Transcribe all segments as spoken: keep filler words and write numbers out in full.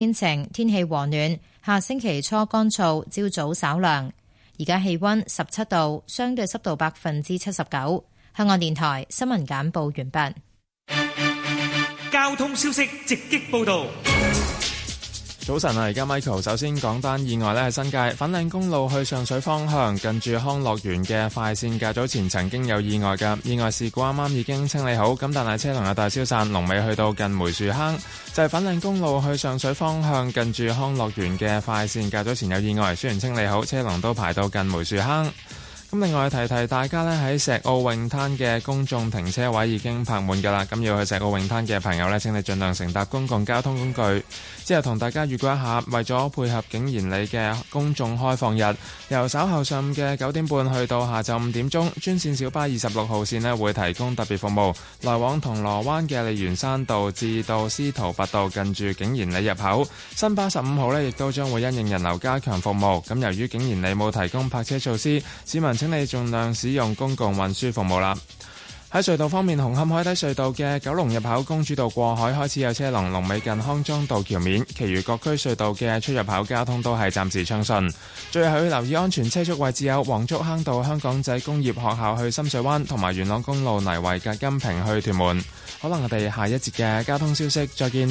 天晴，天氣和暖，下星期初乾燥，朝早稍涼。而家氣溫十七度，相對濕度百分之七十九。香港電台新聞簡報完畢。 交通消息直擊報道。 早晨啊，而家 Michael 首先講單意外呢，係新界粉嶺公路去上水方向，近住康樂園嘅快線，較早前曾經有意外嘅意外事故，啱啱已經清理好，咁但係車龍有大消散，龍尾去到近梅樹坑，就係粉嶺公路去上水方向，近住康樂園嘅快線，較早前有意外，雖然清理好，車龍都排到近梅樹坑。咁另外提提大家呢，喺石澳泳灘嘅公眾停車位已經泊滿㗎啦，咁要去石澳泳灘嘅朋友呢，請你盡量乘搭公共交通工具。之後同大家預告一下，為咗配合景賢里嘅公眾開放日，由稍後上午嘅九點半去到下晝五點鐘，專線小巴二十六號線呢會提供特別服務，來往銅鑼灣嘅利園山道至到司徒拔道近住景賢里入口。新巴十五號呢亦都將會因應人流加強服務。咁由於景賢里冇提供泊車措施，市民請你盡量使用公共運輸服務啦。喺隧道方面，紅磡海底隧道嘅九龍入口公主道過海開始有車龍，龍尾近康莊道橋面，其餘各區隧道嘅出入口交通都係暫時暢順。最後要留意安全車速位置有黃竹坑道香港仔工業學校去深水灣，同埋元朗公路泥圍隔金屏去屯門。可能我哋下一節嘅交通消息再見。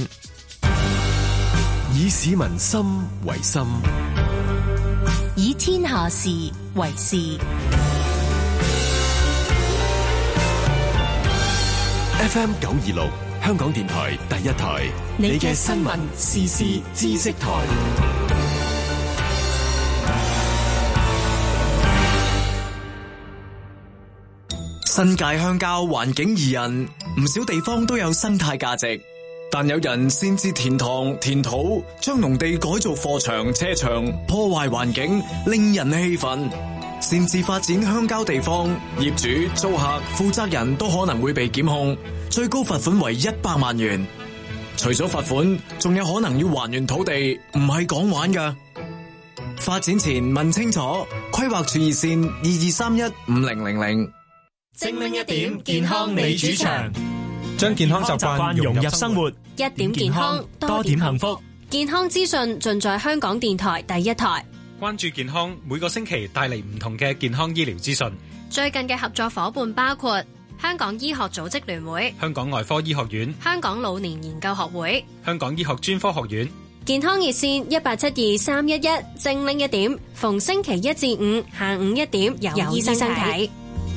以市民心為心， 以天下事為事。 F M 九二六香港電台第一台，你嘅新聞時事知識台。 新界鄉郊環境宜人，唔少地方都有生態價值，但有人先至填塘填土，將農地改造貨場車場，破壞環境，令人氣憤。擅自發展鄉郊地方，業主、租客、負責人都可能會被檢控，最高罰款為一百萬元。除咗罰款，仲有可能要還原土地，唔係講玩㗎。發展前問清楚，規劃處熱線二二三一五零零零。 精靈一點，健康你主場， 將健康習慣融入生活， 一點健康， 多點幸福。 健康資訊盡在香港電台第一台。 關注健康，每個星期帶嚟唔同嘅健康醫療資訊。 最近嘅合作夥伴包括香港醫學組織聯會、 香港外科醫學院、 香港老年研究學會、 香港醫學專科學院。 健康熱線一八七二三一一，精靈一點，逢星期一至五下午一點有醫生睇。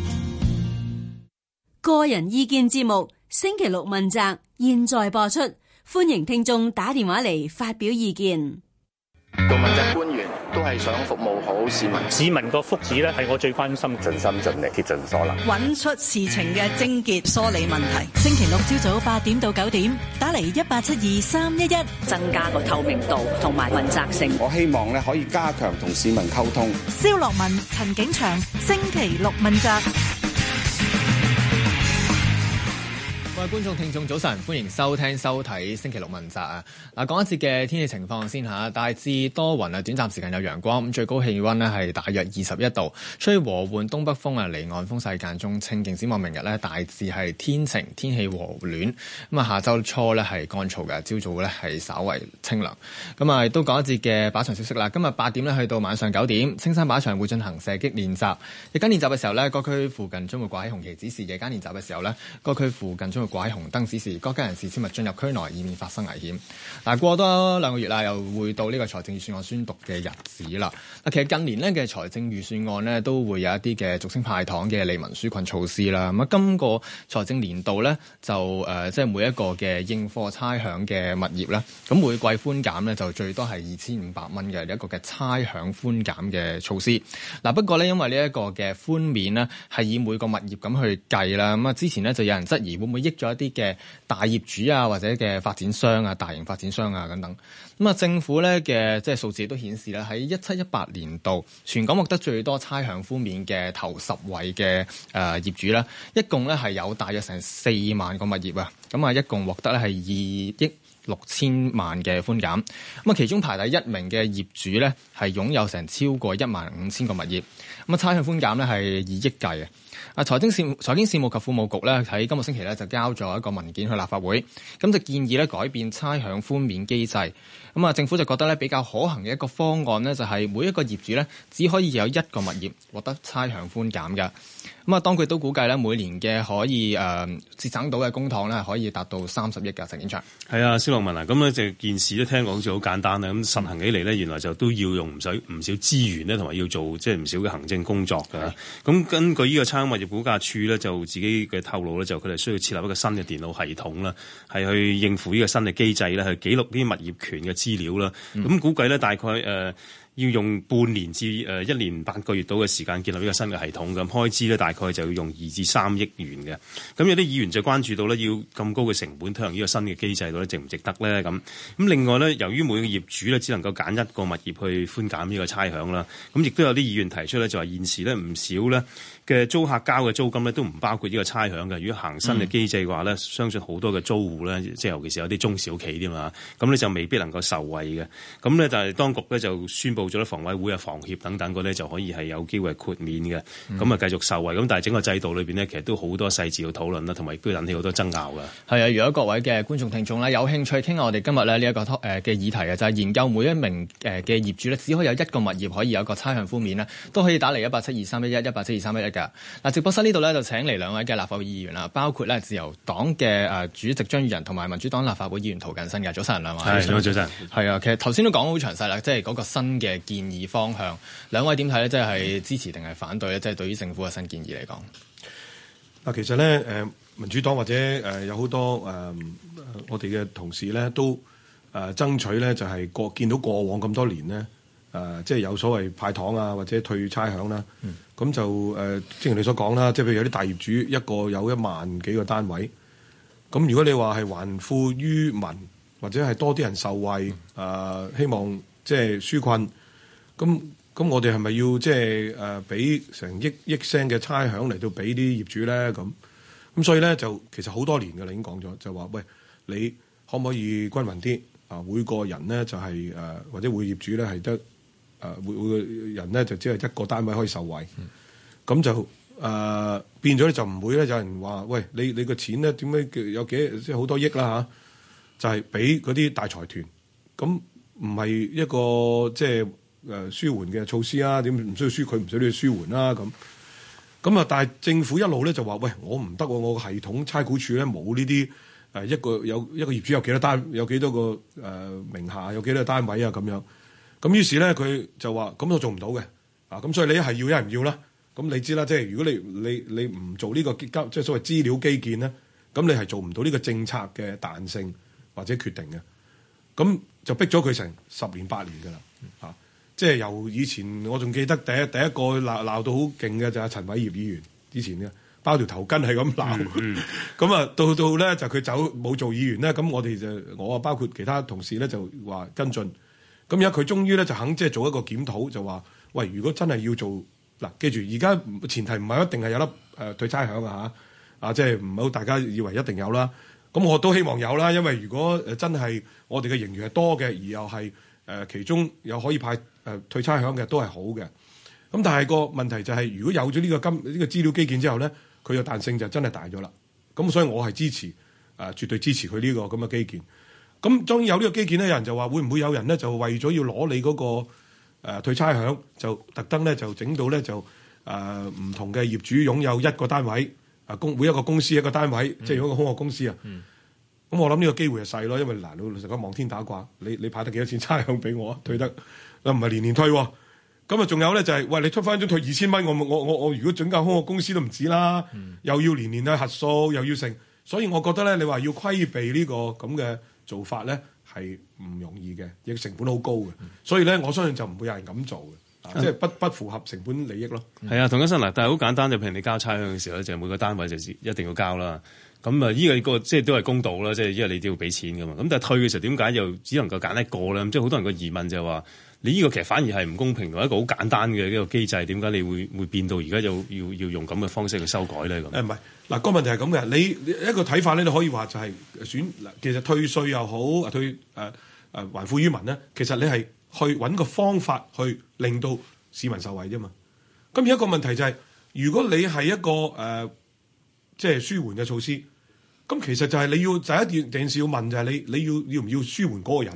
個人意見節目星期六問責，現在播出，歡迎聽眾打電話嚟發表意見。 做問責官員都係想服務好市民， 市民個福祉咧係我最關心， 盡心盡力竭盡所能， 揾出事情嘅症結，梳理問題。星期六朝早八點到九點，打嚟一八七二三一一， 增加個透明度同埋問責性。 我希望咧可以加強同市民溝通。 蕭樂文、陳景祥，星期六問責。 各位觀眾聽眾早晨，歡迎收聽收睇星期六問責啊！嗱，講一節嘅天氣情況先吓，大致多雲啊，短暫時間有陽光，咁最高氣溫咧係大約二十一度，吹和緩東北風啊，離岸風勢間中清勁。展望明日咧大致係天晴，天氣和暖，咁啊下周初咧係乾燥嘅，朝早咧係稍為清涼。咁啊亦都講一節嘅靶場消息啦。今日八點咧去到晚上九點，青山靶場會進行射擊練習。日間練習嘅時候咧，各區附近將會掛起紅旗指示；夜間練習嘅時候咧，各區附近將會掛起紅燈指示，各家人士切勿進入區內，以免發生危險。嗱，過多兩個月啦，又會到呢個財政預算案宣讀嘅日子啦。嗱，其實近年呢嘅財政預算案呢，都會有一啲嘅俗稱派糖嘅利民紓困措施啦。咁啊，今個財政年度呢，就誒、呃，即係每一個嘅應課差餉嘅物業咧，咁每季寬減呢，就最多係二千五百蚊嘅一個嘅差餉寬減嘅措施。嗱，不過呢，因為呢一個嘅寬免呢，係以每個物業咁去計啦。咁啊，之前呢，就有人質疑會唔會益咗一啲嘅大業主啊，或者嘅發展商啊，大型發展商啊等等。咁啊，政府咧嘅即係數字都顯示咧，喺一七一八年度全港獲得最多差餉寬免嘅頭十位嘅誒業主咧，一共咧係有大約成四萬個物業啊。咁啊，一共獲得咧係二億六千萬嘅寬減。咁啊，其中排第一名嘅業主咧係擁有成超過一萬五千個物業。咁啊，差餉寬減咧係以億計嘅。啊，財經事財經事務及庫務局咧喺今個星期咧就交咗一個文件去立法會，咁就建議咧改變差餉寬免機制， 咁啊，政府就覺得咧比較可行嘅一個方案呢，就係每一個業主咧只可以有一個物業獲得差餉寬減㗎。咁啊，當佢都估計咧每年嘅可以誒、呃、節省到嘅公帑咧可以達到三十億㗎。陳景祥。 係啊，蕭樂文啊，咁咧就件事都聽講好似好簡單啦。咁實行起嚟咧，原來就都要用唔少唔少資源咧，同埋要做即係唔少嘅行政工作㗎。咁根據呢個差餉物業估價署咧，就自己嘅透露咧，就佢哋需要設立一個新嘅電腦系統啦，係去應付呢個新嘅機制咧，去記錄啲物業權嘅資料啦。咁、嗯、估計咧大概誒。呃要用半年至誒一年八個月到嘅時間建立呢個新嘅系統，咁開支咧大概就要用二至三億元嘅。咁有啲議員就關注到咧，要咁高嘅成本推行呢個新嘅機制度咧，值唔值得咧？咁咁另外咧，由於每個業主咧只能夠揀一個物業去寬減呢個差餉啦，咁亦都有啲議員提出咧，就話現時咧唔少咧嘅租客交嘅租金咧都唔包括呢個差餉嘅。如果行新嘅機制嘅話咧，嗯、相信好多嘅租戶咧，即係尤其是有啲中小企啲嘛，咁咧就未必能夠受惠嘅。咁咧就係當局咧就宣布咗咧，房委會啊、房協等等嗰啲就可以係有機會豁免嘅，咁啊繼續受惠。咁但係整個制度裏邊呢，其實都好多細節要討論啦，同埋亦都引起好多爭拗㗎。係啊，如果各位嘅觀眾聽眾咧有興趣傾下我哋今日咧呢一個誒嘅議題啊，就係、是、研究每一名誒嘅業主咧只可以有一個物業可以有一個差餉寬免咧，都可以打嚟一八七二三一一一八七二三一一㗎。嗱，直播室呢度咧就請嚟兩位嘅立法會議員啦，包括咧自由黨嘅誒主席張宇人同埋民主黨立法會議員涂謹申嘅。早晨兩位。係，早晨。係啊，其實頭先都講好詳細啦，即係嗰個新嘅建議方向，兩位點睇咧？即係支持定係反對咧？即係對於政府嘅新建議嚟講， 嗱，其實咧，誒民主黨或者誒有好多誒、呃、我哋嘅同事咧，都誒、呃、爭取咧，就係過見到過往咁多年咧，誒、呃、即係有所謂派糖啊，或者退差餉啦，咁、嗯、就誒、呃、正如你所講啦，即係譬如有啲大業主一個有一萬幾個單位，咁如果你話係還富於民，或者係多啲人受惠，誒、呃、希望即係紓困。咁咁，我哋係咪要即係誒俾成億億聲嘅差餉嚟到俾啲業主咧？咁咁，所以咧就其實好多年嘅啦，已經講咗，就話喂，你可唔可以均勻啲啊？每個人咧就係、是、誒、呃，或者每業主咧係得誒每每個人咧就只係一個單位可以受惠。咁、嗯、就誒、呃、變咗咧就唔會咧有人話喂，你你個錢咧點解有幾即係好多億啦嚇、啊？就係俾嗰啲大財團，咁唔係一個即係。誒、呃、舒緩嘅措施啊，點唔需要舒佢唔需要舒緩啦咁咁啊！但係政府一路咧就話：喂，我唔得喎，我個系統差估署咧冇呢啲誒一個有一個業主有幾多單，有幾多個誒、呃、名下有幾多個單位啊咁樣。咁於是咧佢就話：咁我做唔到嘅啊！咁所以你一係要一係唔要啦。咁你知啦，即係如果你你你唔做呢個即係所謂資料基建咧，咁你係做唔到呢個政策嘅彈性或者決定嘅。咁就逼咗佢成十年八年㗎啦嚇。啊即係由以前，我仲記得第一第一個鬧鬧到好勁嘅就係陳偉業議員，之前嘅包條頭巾係咁鬧，咁、嗯、啊、嗯、到到咧就佢走冇做議員咧，咁我哋就我啊包括其他同事咧就話跟進，咁而家佢終於咧就肯即係做一個檢討，就話喂，如果真係要做嗱，記住而家前提唔係一定係有粒誒退差餉啊嚇，啊即係唔好大家以為一定有啦，咁我都希望有啦，因為如果誒真係我哋嘅盈餘係多嘅，而又係誒、呃、其中有可以派。誒退差餉嘅都係好嘅，咁但係個問題就係、是，如果有咗呢個金呢、這個資料基建之後咧，佢嘅彈性就真係大咗啦。咁所以我係支持誒、呃，絕對支持佢呢、這個咁嘅基建。咁當然有呢個基建咧，有人就話會唔會有人咧就為咗要攞你嗰、那個、呃、退差餉，就特登咧就整到咧就誒唔、呃、同嘅業主擁有一個單位，啊公每一個公司一個單位，嗯、即係如果個空殼公司啊。咁、嗯、我諗呢個機會係細咯，因為嗱老老實講望天打卦，你你派得幾多錢差餉俾我啊？退得。又唔係年年退喎，咁啊仲有咧就係、是，喂你出翻張退二千蚊，我我我我如果準間空殼公司都唔止啦，嗯、又要年年去核數，又要成，所以我覺得咧，你話要規避呢個咁嘅做法咧係唔容易嘅，亦成本好高嘅，嗯、所以咧我相信就唔會有人咁做嘅，嗯、即係不不符合成本利益咯。係、嗯、啊，涂謹申嗱，但係好簡單，就譬如你交差餉嘅時候咧，就每個單位就一定要交啦。咁啊，呢個個即係都係公道啦，即係因為你都要俾錢噶嘛。咁但係退嘅時候點解又只能夠揀一個咧？即係好多人個疑問就係話。你呢個其實反而係唔公平，同一個好簡單嘅呢個機制，點解你會會變到而家又要要用咁嘅方式去修改咧？咁誒唔係嗱，個問題係咁嘅，你一個睇法咧，你可以話就係選嗱，其實退稅又好，退誒誒還富於民咧，其實你係去揾個方法去令到市民受惠啫嘛。咁而一個問題就係、是，如果你係一個誒即係舒緩嘅措施，咁其實就係你要就一件件事要問就係你你要要唔要舒緩嗰個人啊？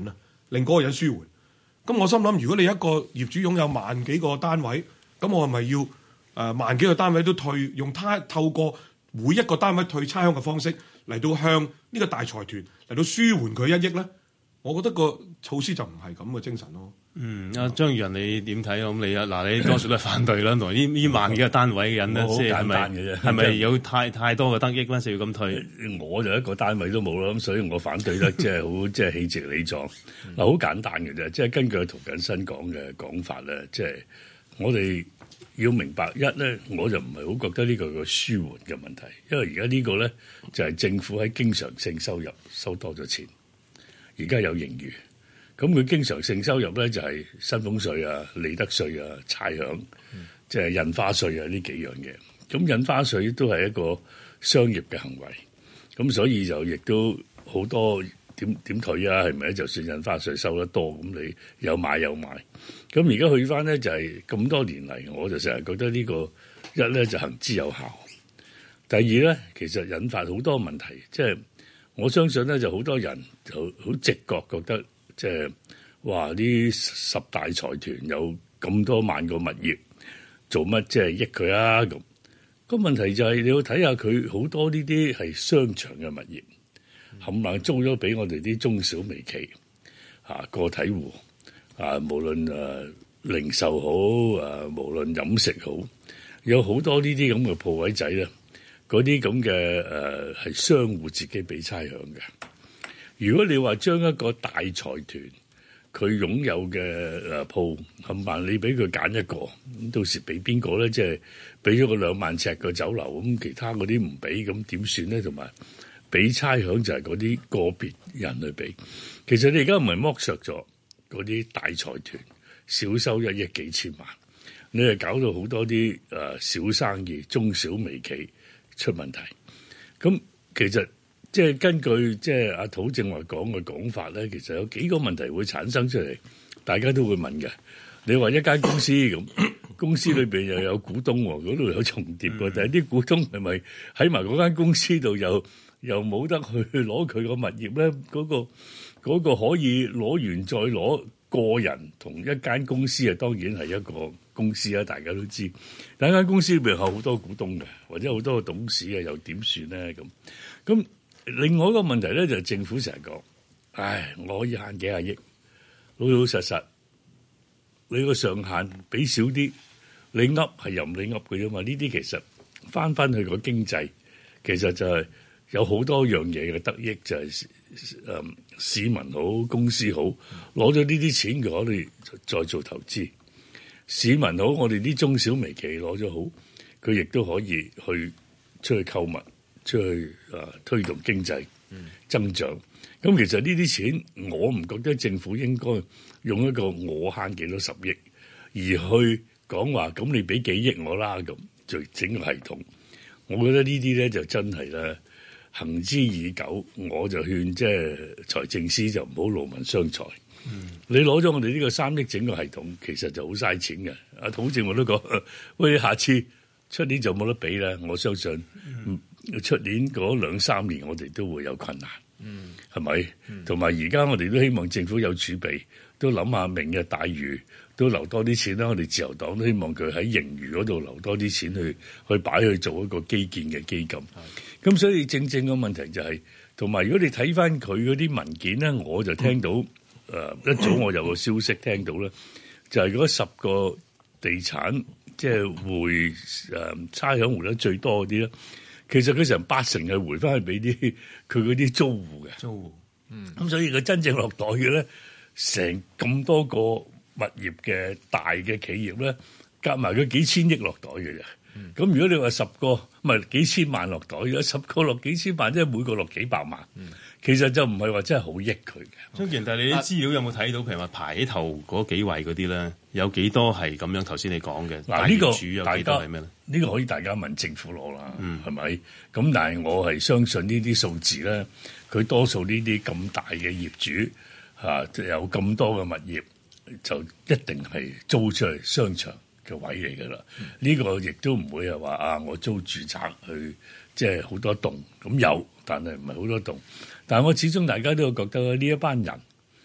令嗰個人舒緩。咁我心諗，如果你一個業主擁有萬幾個單位，咁我係咪要誒、呃、萬幾個單位都退，用他透過每一個單位退差餉嘅方式嚟到向呢個大財團嚟到舒緩佢一億咧？我覺得個措施就唔係咁嘅精神咯。 嗯，阿張宇人你點睇啊？咁你啊嗱，你多數都係反對啦，同呢呢萬幾個單位嘅人咧，即係係咪係咪有太太多嘅得益咧？就要咁退？ 我就一個單位都冇啦，咁所以我反對得即係好即係氣直理壯。嗱，好簡單嘅啫，即係根據涂謹申講嘅講法咧，即係我哋要明白一咧，我就唔係好覺得呢個個舒緩嘅問題，因為而家呢個咧就係政府喺經常性收入收多咗錢，而家有盈餘。咁佢經常性收入咧就係薪俸稅啊、利得稅啊、差餉，即係印花稅啊呢幾樣嘢。咁印花稅都係一個商業嘅行為，咁所以就亦都好多點點退啊，係咪？就算印花稅收得多，咁你有買有賣。咁而家去翻咧就係咁多年嚟，我就成日覺得呢個一咧就行之有效，第二咧其實引發好多問題，即係我相信咧就好多人就好直覺覺得。即係話呢十大財團有咁多萬個物業，做乜即係益佢啊？咁個問題就係你要睇下佢好多呢啲係商場嘅物業，冚唪唥租咗俾我哋啲中小微企啊個體戶啊，無論誒零售好啊，無論飲食好，有好多呢啲咁嘅鋪位仔咧，嗰啲咁嘅誒係商戶自己俾差餉嘅。如果你話將一個大財團佢擁有嘅誒鋪冚唪唥，你俾佢揀一個，咁到時俾邊個咧？即係俾咗個兩萬尺嘅酒樓，咁其他嗰啲唔俾，咁點算咧？同埋俾差餉就係嗰啲個別人去俾。其實你而家唔係剝削咗嗰啲大財團少收一億幾千萬，你係搞到好多啲誒小生意、中小微企出問題。咁其實。即係根據即係阿涂正話講嘅講法咧，其實有幾個問題會產生出嚟，大家都會問嘅。你話一間公司咁，公司裏邊又有股東喎，嗰度有重疊喎，但係啲股東係咪喺埋嗰間公司度又又冇得去攞佢個物業咧？嗰個嗰個可以攞完再攞，個人同一間公司啊，當然係一個公司啊，大家都知。但係間公司裏邊有好多股東嘅，或者好多個董事啊，又點算咧？咁咁。另外一個問題咧，就係政府成日講，唉，我可以慳幾廿億，老老實實，你個上限俾少啲，你噏係任你噏嘅啫嘛。呢啲其實翻翻去個經濟，其實就係有好多樣嘢嘅得益，就係、是、誒、嗯、市民好，公司好，攞咗呢啲錢嘅，我哋再做投資。市民好，我哋啲中小微企攞咗好，佢亦都可以去出去購物。出去啊，推動經濟增長。咁、嗯、其實呢啲錢，我唔覺得政府應該用一個我慳幾多十億，而去講話咁你俾幾億我啦咁，就整個系統。我覺得呢啲咧就真係咧行之已久。我就勸即係財政司就唔好勞民傷財。嗯、你攞咗我哋呢個三億整個系統，其實就好嘥錢嘅。阿涂正我都講，喂，下次出年就冇得俾啦。我相信。嗯出年嗰兩三年，我哋都會有困難，嗯，係咪？同埋而家我哋都希望政府有儲備，都諗下明日大嶼都留多啲錢啦。我哋自由黨都希望佢喺盈餘嗰度留多啲錢去去擺去做一個基建嘅基金。咁、嗯、所以正正個問題就係、是，同埋如果你睇翻佢嗰啲文件咧，我就聽到誒、嗯呃、一早我有個消息聽到咧，就係、是、嗰十個地產即係回誒差餉回得最多嗰啲咧。其實佢成八成係回翻去俾啲佢嗰啲租戶嘅，租戶，嗯，咁所以佢真正落袋嘅咧，成咁多個物業嘅大嘅企業咧，夾埋佢幾千億落袋嘅啫。咁、嗯、如果你話十個唔係幾千萬落袋，有十個落幾千萬，即係每個落幾百萬。嗯其實就唔係話真係好益佢嘅。張健，但係你啲資料有冇睇到？譬如話排喺頭嗰幾位嗰啲咧，有幾多係咁樣？頭先你講嘅嗱，呢個主有幾多係咩咧？呢個可以大家問政府攞啦，係、嗯、咪？咁但係我係相信呢啲數字咧，佢多數呢啲咁大嘅業主嚇、啊、有咁多嘅物業，就一定係租出去商場嘅位嚟㗎啦。呢、嗯呢個亦都唔會係話啊，我租住宅去即係好多棟咁有，但係唔係好多棟。但係我始終大家都覺得呢一班人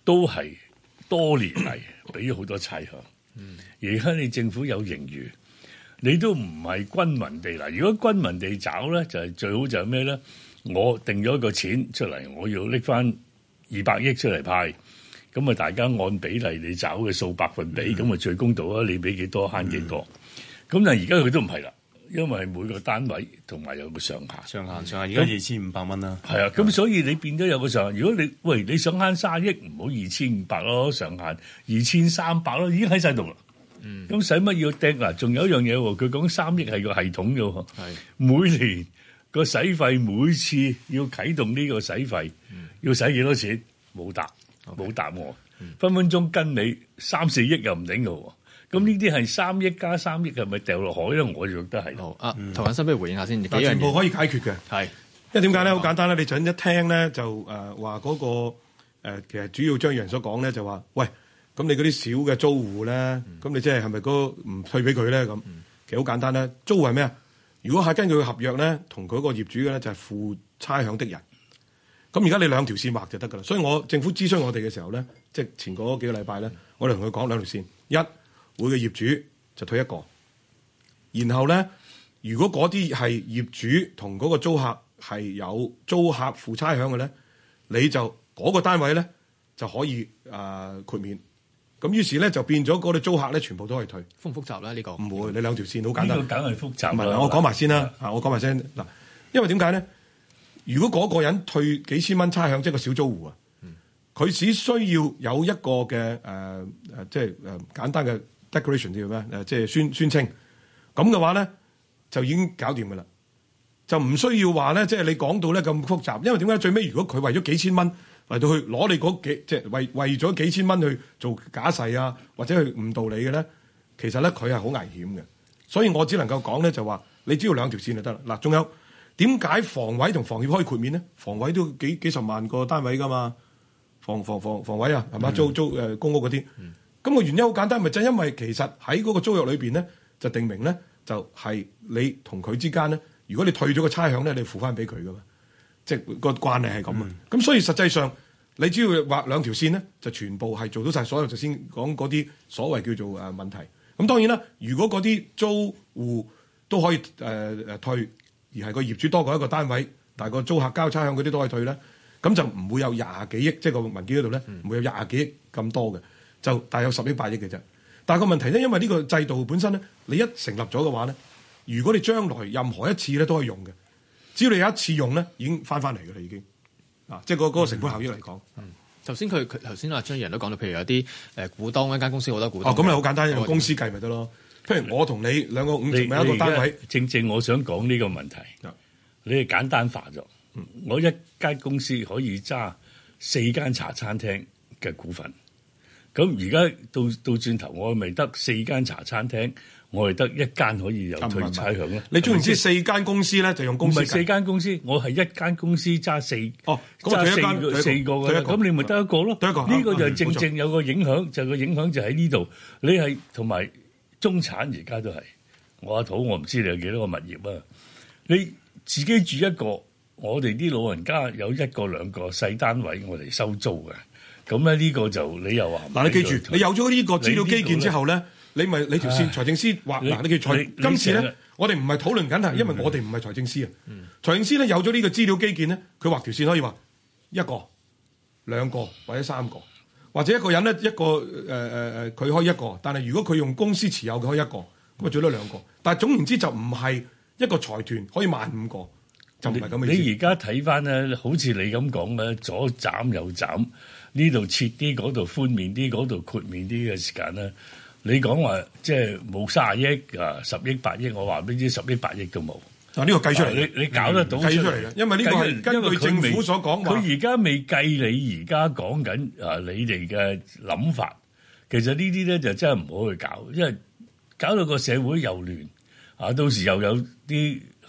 都係多年嚟俾咗好多差餉。而家你政府有盈餘，你都唔係均勻地嗱。如果均勻地找咧，就係、是、最好就係咩咧？我定咗一個錢出嚟，我要拎翻二百億出嚟派，咁啊大家按比例你找嘅數百分比，咁啊、嗯、最公道啊！你俾幾多慳幾多？咁、嗯、但係而家佢都唔係啦。因為每個單位同埋有個上限， 上限上限而家二千五百蚊啦。係啊，咁所以你變咗有個上限。如果你喂你想慳卅億，唔好二千五百咯，上限二千三百咯，已經喺晒度啦。嗯，咁使乜要掟嗱？仲有一樣嘢喎，佢講三億係個系統嘅喎。係每年個使費，每次要啟動呢個使費，嗯、要使幾多錢？冇答，冇 Okay. 答我。嗯、分分鐘跟你三四億又唔頂嘅喎。咁呢啲係三億加三億，係咪掉落海咧？我就覺得係。好啊， 涂謹申不如回應下先。 但全部可以解決嘅， 係， 因為點解咧？好簡單咧，你陣一聽咧就誒話嗰個誒、呃，其實主要張宇人所講咧就話，喂，咁你嗰啲小嘅租戶咧，咁、嗯、你即係係咪嗰唔退俾佢咧？咁、嗯、其實好簡單咧，租戶係咩啊？如果係根據合約咧，同佢個業主嘅咧就係付差餉的人。咁而家你兩條線畫就得㗎啦。所以我政府諮詢我哋嘅時候咧，即係前嗰幾個禮拜咧，我哋同佢講兩條線，一。每個業主就退一個，然後咧，如果嗰啲係業主同嗰個租客係有租客付差餉嘅咧，你就嗰、嗰個單位咧就可以誒、呃、豁免。咁於是咧就變咗嗰啲租客咧全部都可以退。 複唔複雜咧？呢、呢個唔會，你兩條線好簡單。 呢個梗係複雜。唔係， 我講埋先啦。啊，我講埋先嗱，因為點解咧？如果嗰個人退幾千蚊差餉，即係個小租戶啊，佢、嗯、只需要有一個嘅誒誒，即係誒簡單嘅。Declaration 叫咩？誒，即係宣宣稱咁嘅話咧，就已經搞掂㗎啦，就唔需要話咧，即係你講到咧咁複雜。因為點解最尾如果佢為咗幾千蚊嚟到去攞你嗰幾，即係為為咗幾千蚊去做假誓啊，或者去誤導你嘅咧，其實咧佢係好危險嘅。所以我只能夠講咧，就話你只要兩條線就得啦。嗱，仲有點解房委同房協可以豁免咧？房委都幾幾十萬個單位㗎嘛，房房房房委啊，係嘛、嗯、租租誒、呃、公屋嗰啲。嗯咁個原因好簡單，咪就係因為其實喺嗰個租約裏邊咧，就定明咧，就係、是、你同佢之間咧，如果你退咗個差餉咧，你付翻俾佢噶嘛，即係個關係係咁啊。咁、嗯、所以實際上你只要畫兩條線咧，就全部係做到晒所有頭先講嗰啲所謂叫做誒問題。咁當然啦，如果嗰啲租戶都可以誒誒、呃、退，而係個業主多過一個單位，但係個租客交差餉嗰啲都可以退咧，咁就唔會有廿幾億，即係個文件嗰度咧，唔會有廿幾億咁多嘅。就大約十億八億嘅啫，但係個問題咧，因為呢個制度本身咧，你一成立咗嘅話咧，如果你將來任何一次咧都可以用嘅，只要你有一次用咧，已經翻翻嚟嘅啦，已經啊，即係個嗰個成本效益嚟講。 嗯，頭先佢佢頭先阿張宇人都講到，譬如有啲誒股東一間公司好多股東。哦，咁你好簡單，用公司計咪得咯。譬如我同你兩個五十萬一個單位， 正正我想講呢個問題，嗯、你係簡單化咗。嗯、我一間公司可以揸四間茶餐廳嘅股份。咁而家到到轉頭，我咪得四間茶餐廳，我係得一間可以有退差餉咧。 你總言之，四間公司咧就用公司。唔係四間公司，我係一間公司揸四哦， 揸四個四個嘅。咁你咪得一個咯。 得一個。 呢個就係正正有個影響，就個影響就喺呢度。你係同埋中產而家都係我阿土，我唔知你有幾多個物業啊？你自己住一個，我哋啲老人家有一個兩個細單位，我哋收租嘅。咁咧呢個就你又話嗱，你記住，你有咗呢個資料基建之後咧，你咪你條線財政司話嗱，你記住財今次咧，我哋唔係討論緊係，因為我哋唔係財政司啊。財政司咧有咗呢個資料基建咧，佢畫條線可以話一個、兩個或者三個，或者一個人咧一個誒誒誒，佢可以一個，但係如果佢用公司持有嘅可以一個，咁啊最多兩個。但係總言之就唔係一個財團可以萬五個，就唔係咁嘅意思。 你而家睇翻咧，好似你咁講咧，左斬右斬。呢度切啲，嗰度寬免啲，嗰度豁免啲嘅時間咧，你講話即係冇卅億啊，十億八億，我話俾你知，十億八億都冇。 啊，呢個計出嚟， 你你搞得到計出嚟嘅，因為呢個係根據政府所講話。 佢而家未計你而家講緊啊，你哋嘅諗法，其實呢啲咧就真係唔好去搞，因為搞到個社會又亂啊，到時又有啲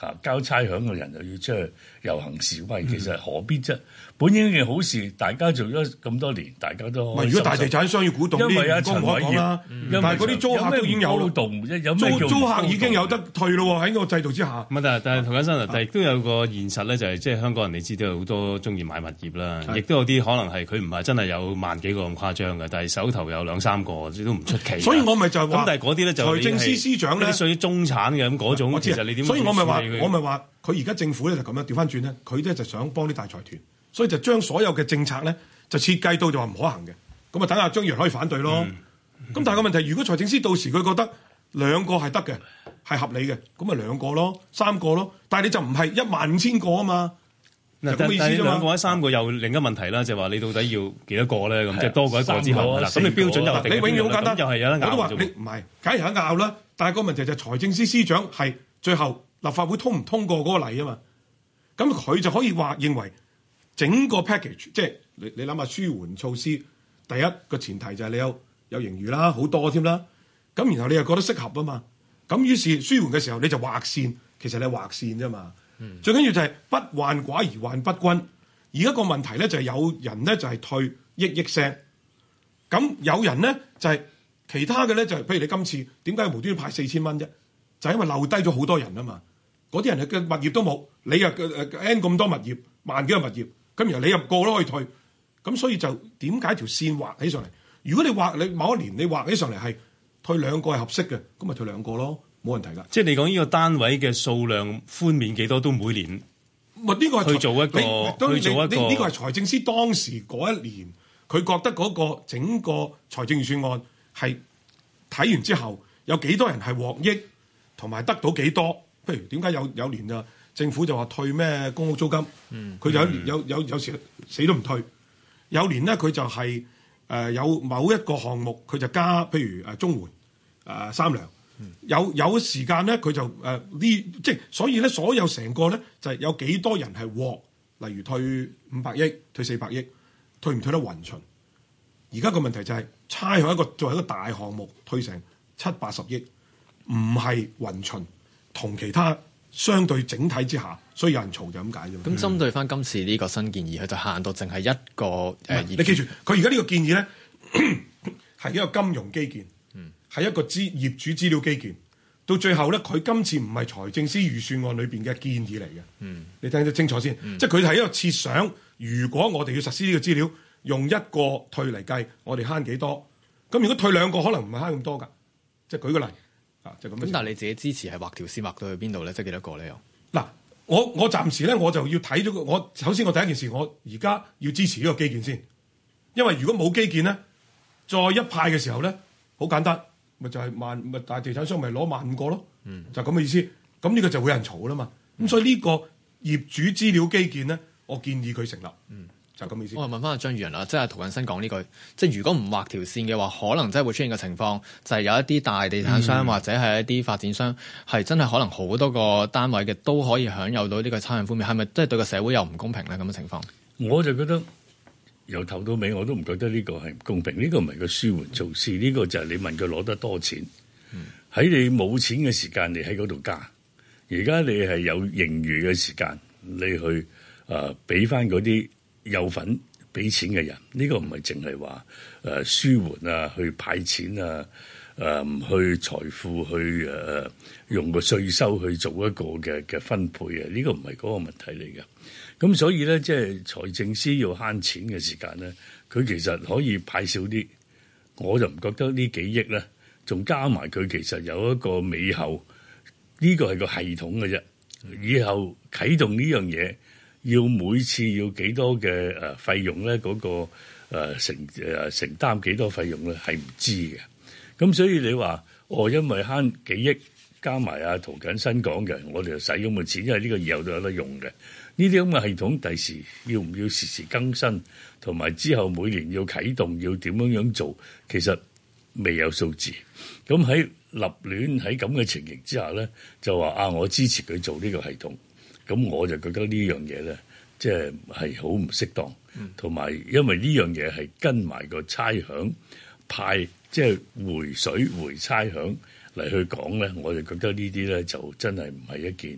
啊交差餉嘅人又要出去遊行示威，其實何必啫？本應係好事，大家做咗咁多年，大家都開心。 如果大地產商要鼓動啲， 因為阿陳陳偉業， 但係嗰啲租客都已經有動，有咩租租客已經有得退咯喎，喺個制度之下。 唔係，但係但係涂謹申啊，但係亦都有個現實咧，就係即係香港人你知道有好多中意買物業啦，亦都有啲可能係佢唔係真係有萬幾個咁誇張嘅，但係手頭有兩三個都唔出奇。 所以我咪就係話， 咁但係嗰啲咧就財政司司長咧， 屬於中產嘅咁嗰種，其實你點？ 所以我咪話，我咪話，佢而家政府咧就咁樣調翻轉咧，佢咧就想幫啲大財團。所以就將所有嘅政策咧，就設計到就話唔可行嘅，咁啊等下張宇人可以反對咯。咁、嗯、但係個問題，如果財政司到時佢覺得兩個係得嘅，係合理嘅，咁咪兩個咯，三個咯。但係你就唔係一萬五千個啊嘛。嗱， 但係兩個或者三個又另一個問題啦，就係、是、話你到底要幾多個咧？咁即係多過一個之後，咁你標準又定？ 你永遠好簡單， 又係有得拗。 我都話你唔係，梗係有得拗啦。但係個問題就係財政司司長係最後立法會通唔通過嗰個例啊嘛。咁佢就可以話認為。整個 package 即係你你諗下舒緩措施，第一個前提就係你有有盈餘啦，好多添啦。咁然後你又覺得適合啊嘛。咁於是舒緩嘅時候你就劃線，其實你係劃線啫嘛。嗯、最緊要就係不患寡而患不均。而家個問題咧就係有人咧就係退億億聲，咁有人咧就係、是、其他嘅咧就係、是、譬如你今次點解無端端派四千蚊啫？就係、因為漏低咗好多人啊嘛。嗰啲人嘅物業都冇，你又誒 N 咁多物業，萬幾個物業。咁然後你入個都可以退，咁所以就點解條線畫起上嚟？如果你畫你某一年你畫起上嚟係退兩個係合適嘅，咁咪退兩個咯，冇問題㗎。 即係你講呢個單位嘅數量寬免幾多都每年， 咪呢個係去做一個去做一個呢個係財政司當時嗰一年，佢覺得嗰個整個財政預算案係睇完之後有幾多人係獲益，同埋得到幾多？譬如點解有有年啊？政府就話退咩公屋租金，佢、嗯、有有有有時死都唔退。有年咧佢就係、是、誒、呃、有某一個項目佢就加，譬如誒綜援誒三糧。有有時間咧佢就誒呢、呃、即係所以咧所有成個咧就係、是、有幾多人係獲，例如退五百億、退四百億，退唔退得勻循？而家個問題就係、是、差向一個作為一個大項目退成七八十億，唔係勻循同其他。相對整體之下，所以有人嘈就咁解啫。 咁針對翻今次呢個新建議，佢就限到淨係一個誒。 嗯、你記住，佢而家呢個建議咧係一個金融基建，係、嗯、一個資業主資料基建。到最後咧，佢今次唔係財政司預算案裏邊嘅建議嚟嘅。嗯，你聽得清楚先。嗯、即係佢係一個設想，如果我哋要實施呢個資料，用一個退嚟計，我哋慳幾多？咁如果退兩個，可能唔係慳咁多㗎。即係舉個例。啊，就咁。咁但係你自己支持係畫條線畫到去邊度咧？即係幾多個咧？又嗱，我我暫時咧我就要睇咗個。我首先我第一件事，我而家要支持呢個基建先，因為如果冇基建咧，再一派嘅時候咧，好簡單，咪就係、是、萬咪大地產商咪攞萬五個咯，嗯、就咁嘅意思。咁呢個就會有人嘈啦嘛。咁、嗯、所以呢個業主資料基建咧，我建議佢成立。嗯就咁意思。 我問翻阿張宇人啦，即係涂謹申講呢句，即係如果唔畫條線嘅話，可能真係會出現嘅情況，就係、是、有一啲大地產商、嗯、或者係一啲發展商，係真係可能好多個單位嘅都可以享有到呢個差餉寬免，係咪即係對個社會又唔公平咧？咁嘅情況， 我就覺得由頭到尾我都唔覺得呢個係唔公平。呢、這個唔係個舒緩措施，呢、這個就係你問佢攞得多錢，喺、嗯、你冇錢嘅時間，你喺嗰度加。而家你係有盈餘嘅時間，你去誒俾翻嗰啲。有份俾錢嘅人，呢、這個唔係淨係話誒舒緩啊，去派錢啊，誒、呃、去財富去誒、呃、用個稅收去做一個嘅嘅分配啊，呢、這個唔係嗰個問題嚟嘅。咁所以咧，即係財政司要慳錢嘅時間咧，佢其實可以派少啲。我就唔覺得呢幾億咧，仲加埋佢其實有一個尾後，呢、這個係個系統嘅啫。以後啟動呢樣嘢。要每次要幾多嘅誒費用咧？嗰、那個誒、呃、承誒、呃、承擔幾多費用咧？係唔知嘅。咁所以你話哦，因為慳幾億加埋阿涂謹申講嘅，我哋就使咁嘅錢，因為呢個以後都有得用嘅。呢啲咁嘅系統，第時要唔要時時更新，同埋之後每年要啟動，要點樣樣做，其實未有數字。咁喺立亂喺咁嘅情形之下咧，就話啊，我支持佢做呢個系統。咁我就覺得呢樣嘢咧，即係係好唔適當，同埋、嗯、因為呢樣嘢係跟埋個差餉派，即係回水回差餉嚟去講咧，我就覺得呢啲咧就真係唔係一件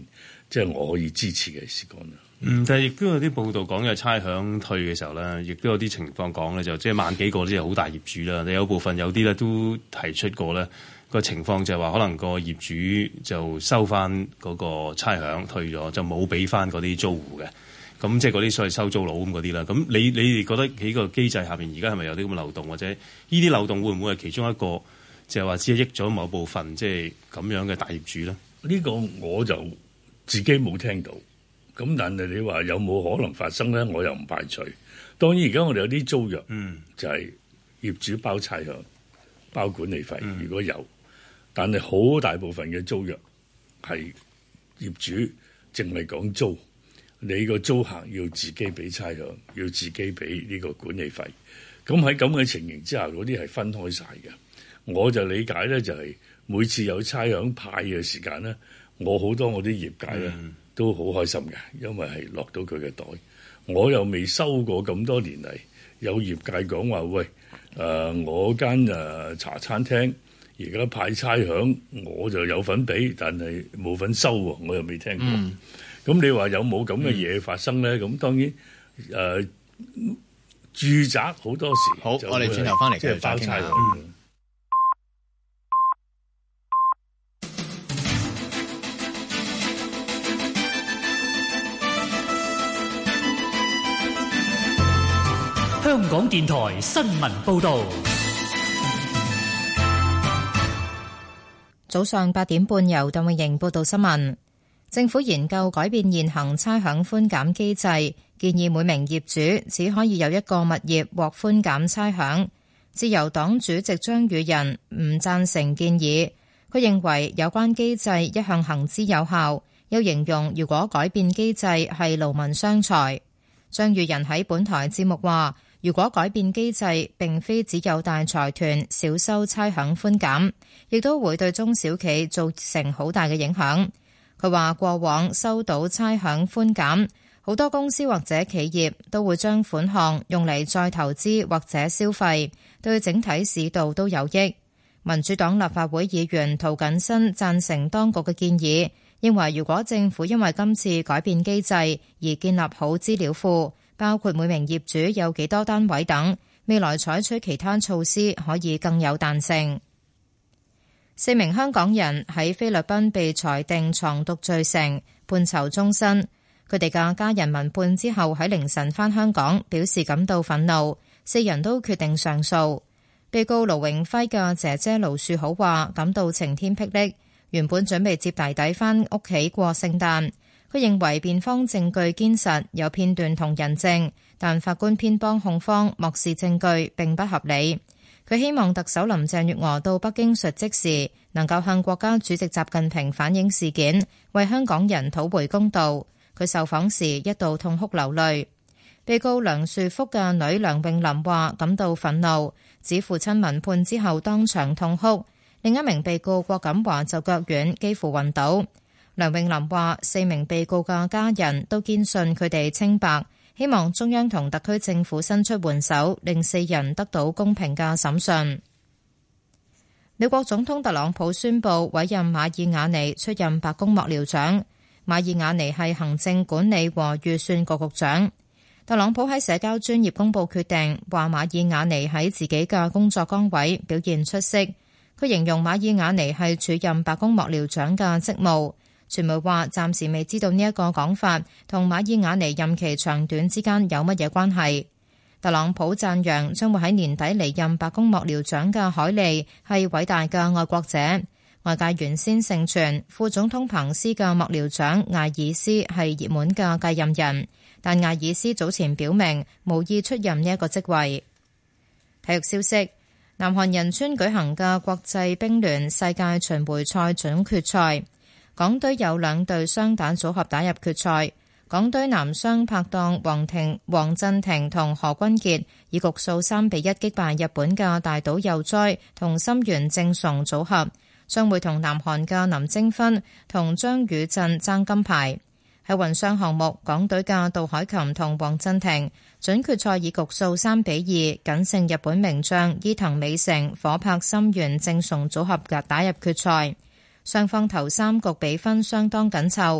即係我可以支持嘅事幹啦。 嗯，但係亦都有啲報道講嘅差餉退嘅時候咧，亦都有啲情況講咧，就即係萬幾個啲係好大業主啦。你有部分有啲咧都提出過咧個情況，就係話可能個業主就收翻嗰個差餉退咗，就冇俾翻嗰啲租戶嘅。咁即係嗰啲所謂收租佬咁嗰啲啦。咁你你哋覺得喺個機制下邊，而家係咪有啲咁嘅漏洞，或者呢啲漏洞會唔會係其中一個，就係話只係益咗某部分即係咁樣嘅大業主咧？ 呢個我就自己冇聽到。咁但係你話有冇可能發生咧？我又唔排除。當然而家我哋有啲租約，嗯，就係業主包差餉、包管理費，嗯，如果有，但係好大部分嘅租約係業主淨係講租。你個租客要自己俾差餉，要自己俾呢個管理費。咁喺咁嘅情形之下，嗰啲係分開晒嘅。我就理解咧，就係每次有差餉派嘅時間咧，我好多我啲業界咧都好開心嘅，因為係落到佢嘅袋。我又未收過咁多年嚟，有業界講話，喂，誒、呃、我間誒茶餐廳而家派差餉，我就有份俾，但係冇份收喎，我又未聽過。嗯咁你話有冇咁嘅嘢發生咧？咁、嗯、當然，誒、呃，住宅好多時好，我哋轉頭翻嚟即係包差餉。 香港電台新聞報導， 早上八點半由鄧永盈報道新聞。政府研究改變現行差餉寬減機制，建議每名業主只可以有一個物業獲寬減差餉。自由黨主席張宇人唔贊成建議，佢認為有關機制一向行之有效，又形容如果改變機制係勞民傷財。張宇人喺本台節目話，如果改變機制並非只有大財團少收差餉寬減，亦都會對中小企造成好大嘅影響。佢話過往收到差餉寬減，好多公司或者企業都會將款項用嚟再投資或者消費，對整體市道都有益。民主黨立法會議員涂謹申贊成當局嘅建議，認為如果政府因為今次改變機制而建立好資料庫，包括每名業主有幾多單位等，未來採取其他措施可以更有彈性。四名香港人喺菲律賓被裁定藏毒罪成，判囚終身。佢哋嘅家人聞判之後喺凌晨返香港，表示感到憤怒。四人都決定上訴。被告盧永輝嘅姐姐盧樹好話感到晴天霹靂，原本準備接弟弟返屋企過聖誕。佢認為辯方證據堅實，有片段同人證，但法官偏幫控方，漠視證據並不合理。佢希望特首林鄭月娥到北京述職時，能夠向國家主席習近平反映事件，為香港人討回公道。佢受訪時一度痛哭流淚。被告梁樹福嘅女梁詠琳話感到憤怒，指父親聞判之後當場痛哭。另一名被告郭錦華就腳軟，幾乎暈倒。梁詠琳話四名被告嘅家人都堅信佢哋清白，希望中央同特區政府伸出援手，令四人得到公平嘅審訊。美國總統特朗普宣布委任馬爾瓦尼出任白宮幕僚長。馬爾瓦尼係行政管理和預算局局長。特朗普喺社交專頁公布決定，話馬爾瓦尼喺自己嘅工作崗位表現出色。佢形容馬爾瓦尼係署任白宮幕僚長嘅職務。傳媒話暫時未知道呢一個講法同馬爾瓦尼任期長短之間有乜嘢關係。特朗普讚揚將會喺年底離任白宮幕僚長嘅凱利係偉大嘅愛國者。外界原先盛傳副總統彭斯嘅幕僚長艾爾斯係熱門嘅繼任人，但艾爾斯早前表明無意出任呢一個職位。體育消息：南韓仁川舉行嘅國際乒聯世界巡迴賽準決賽。港隊有兩隊雙打組合打入決賽，港隊男雙拍檔黃庭、黃鎮廷同何君傑以局數三比一擊敗日本嘅大島佑哉同森原正崇組合，將會同南韓嘅林晶芬同張宇鎮爭金牌。喺混雙項目，港隊嘅杜海琴同黃鎮廷準決賽以局數三比二僅勝日本名將伊藤美誠、火拍森原正崇組合嘅打入決賽。雙方頭三局比分相當緊湊，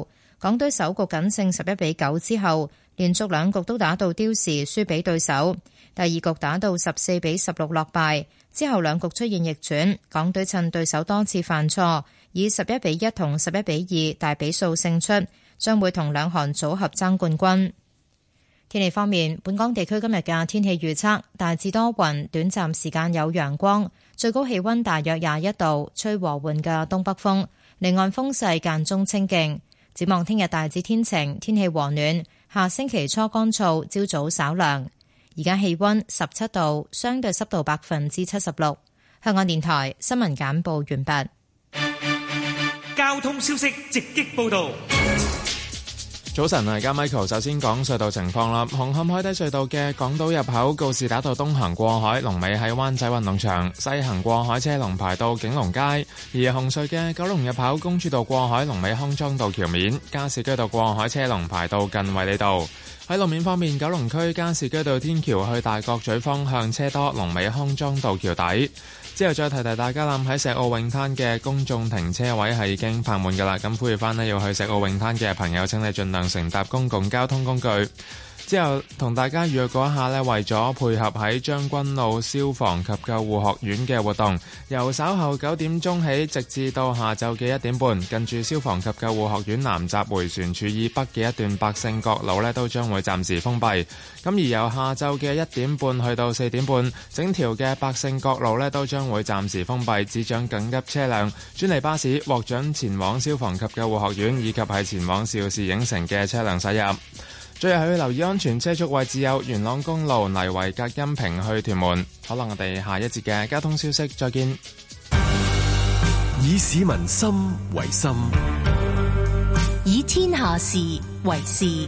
港隊首局僅勝十一比九之後，連續兩局都打到刁時，輸俾對手。第二局打到十四比十六落敗，之後兩局出現逆轉，港隊趁對手多次犯錯，以十一比一同十一比二大比數勝出，將會同兩韓組合爭冠軍。天氣方面，本港地區今日嘅天氣預測大致多雲，短暫時間有陽光，最高氣溫大約廿一度，吹和緩嘅東北風，離岸風勢間中清勁。展望聽日大致天晴，天氣和暖，下星期初乾燥，朝早稍涼。而家氣溫十七度，相對濕度百分之七十六。香港電台新聞簡報完畢。 交通消息直擊報道。 早晨啊，而家 Michael 首先講隧道情況啦。紅磡海底隧道嘅港島入口告士打道東行過海，龍尾喺灣仔運動場；西行過海車龍排到景隆街。而紅隧嘅九龍入口公主道過海，龍尾康莊道橋面；加士居道過海車龍排到近衛理道。喺路面方面，九龍區加士居道天橋去大角咀方向車多，龍尾康莊道橋底。之後再提提大家啦，喺石澳泳灘嘅公眾停車位係已經泊滿㗎啦，咁呼籲翻呢，要去石澳泳灘嘅朋友，請你盡量乘搭公共交通工具。之後同大家預告一下呢，為咗配合喺將軍澳消防及救護學院嘅活動，由稍後九點鐘起，直至到下晝嘅一點半，近住消防及救護學院南閘迴旋處以北嘅一段百勝角路呢，都將會暫時封閉。咁而由下晝嘅一點半去到四點半，整條嘅百勝角路呢，都將會暫時封閉，只准緊急車輛、專利巴士獲准前往消防及救護學院以及係前往邵氏影城嘅車輛駛入。最後要留意安全車速位置有元朗公路泥圍隔音屏去屯門。可能我哋下一節嘅交通消息再見。 以市民心為心， 以天下事為事。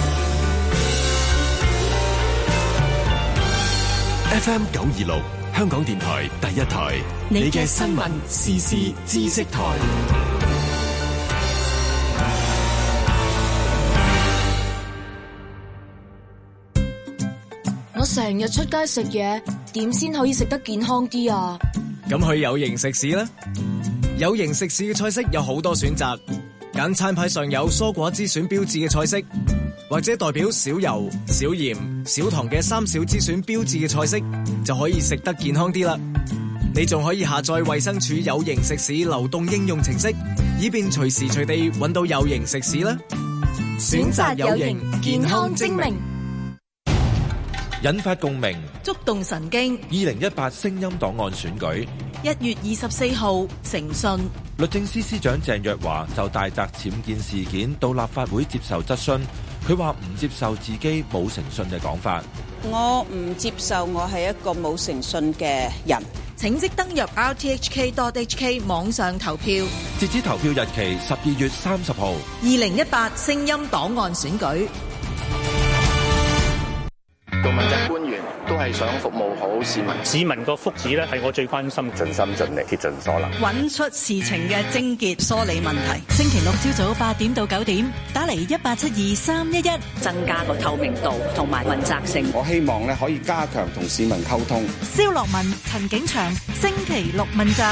F M 九二六香港電台第一台，你嘅新聞時事知識台。 我成日出街食嘢，點先可以食得健康啲啊？ 咁去有營食肆啦！有營食肆嘅菜式有好多選擇，揀餐牌上有蔬果之選標誌嘅菜式，或者代表少油、少鹽、少糖嘅三少之選標誌嘅菜式，就可以食得健康啲啦。你仲可以下載衛生署有營食肆流動應用程式，以便隨時隨地揾到有營食肆啦。 選擇有營，健康精明。 引發共鳴， 觸動神經。 二零一八聲音檔案選舉， 一月二十四號誠信。 律政司司長鄭若驊就大宅僭建事件到立法會接受質詢，佢話唔接受自己冇誠信嘅講法。 我唔接受我係一個冇誠信嘅人。 請即登入 r t h k dot h k 網上投票， 截止投票日期十二月三十號。 二零一八聲音檔案選舉。 做問責官員都係想服務好市民， 市民個福祉咧係我最關心， 盡心盡力，竭盡所能， 揾出事情嘅症結，梳理問題。星期六朝早八點到九點，打嚟一八七二三一一， 增加個透明度同埋問責性。 我希望咧可以加強同市民溝通。 蕭樂文、陳景祥，星期六問責。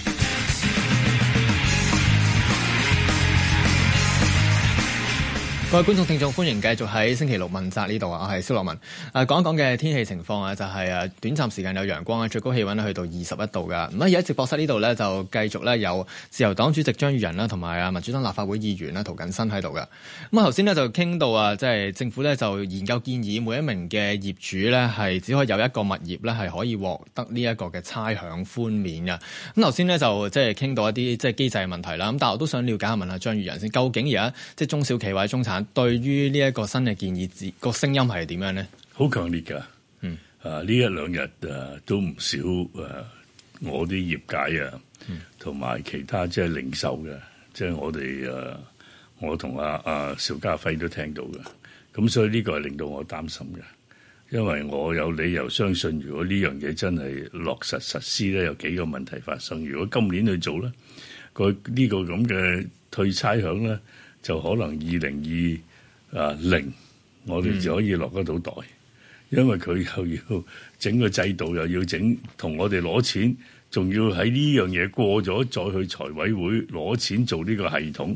各位觀眾聽眾，歡迎繼續喺星期六問責呢度啊！我係蕭樂文。誒講一講嘅天氣情況啊，就係誒短暫時間有陽光啊，最高氣溫咧去到二十一度噶。咁而家直播室呢度咧就繼續咧有自由黨主席張宇人啦，同埋啊民主黨立法會議員啦涂謹申喺度噶。咁啊頭先咧就傾到啊，即係政府咧就研究建議每一名嘅業主咧係只可以有一個物業咧係可以獲得呢一個嘅差餉寬免嘅。咁頭先咧就即係傾到一啲即係機制嘅問題啦。咁但係我都想了解下問下張宇人先，究竟而家即係中小企或者中產對於呢一個新嘅建議個聲音係點樣呢？ 好強烈㗎，嗯，啊呢一兩日啊都唔少誒、啊，我啲業界啊，同埋、嗯、其他即係零售嘅，即係我哋誒、啊，我同阿阿邵家輝都聽到嘅，咁所以呢個係令到我擔心嘅，因為我有理由相信，如果呢樣嘢真係落實實施咧，有幾個問題發生。如果今年去做咧，個呢個咁嘅退差餉咧，就可能二零二啊零，我哋就可以落得到袋，嗯、因為佢又要整個制度，又要整同我哋攞錢，仲要喺呢樣嘢過咗再去財委會攞錢做呢個系統，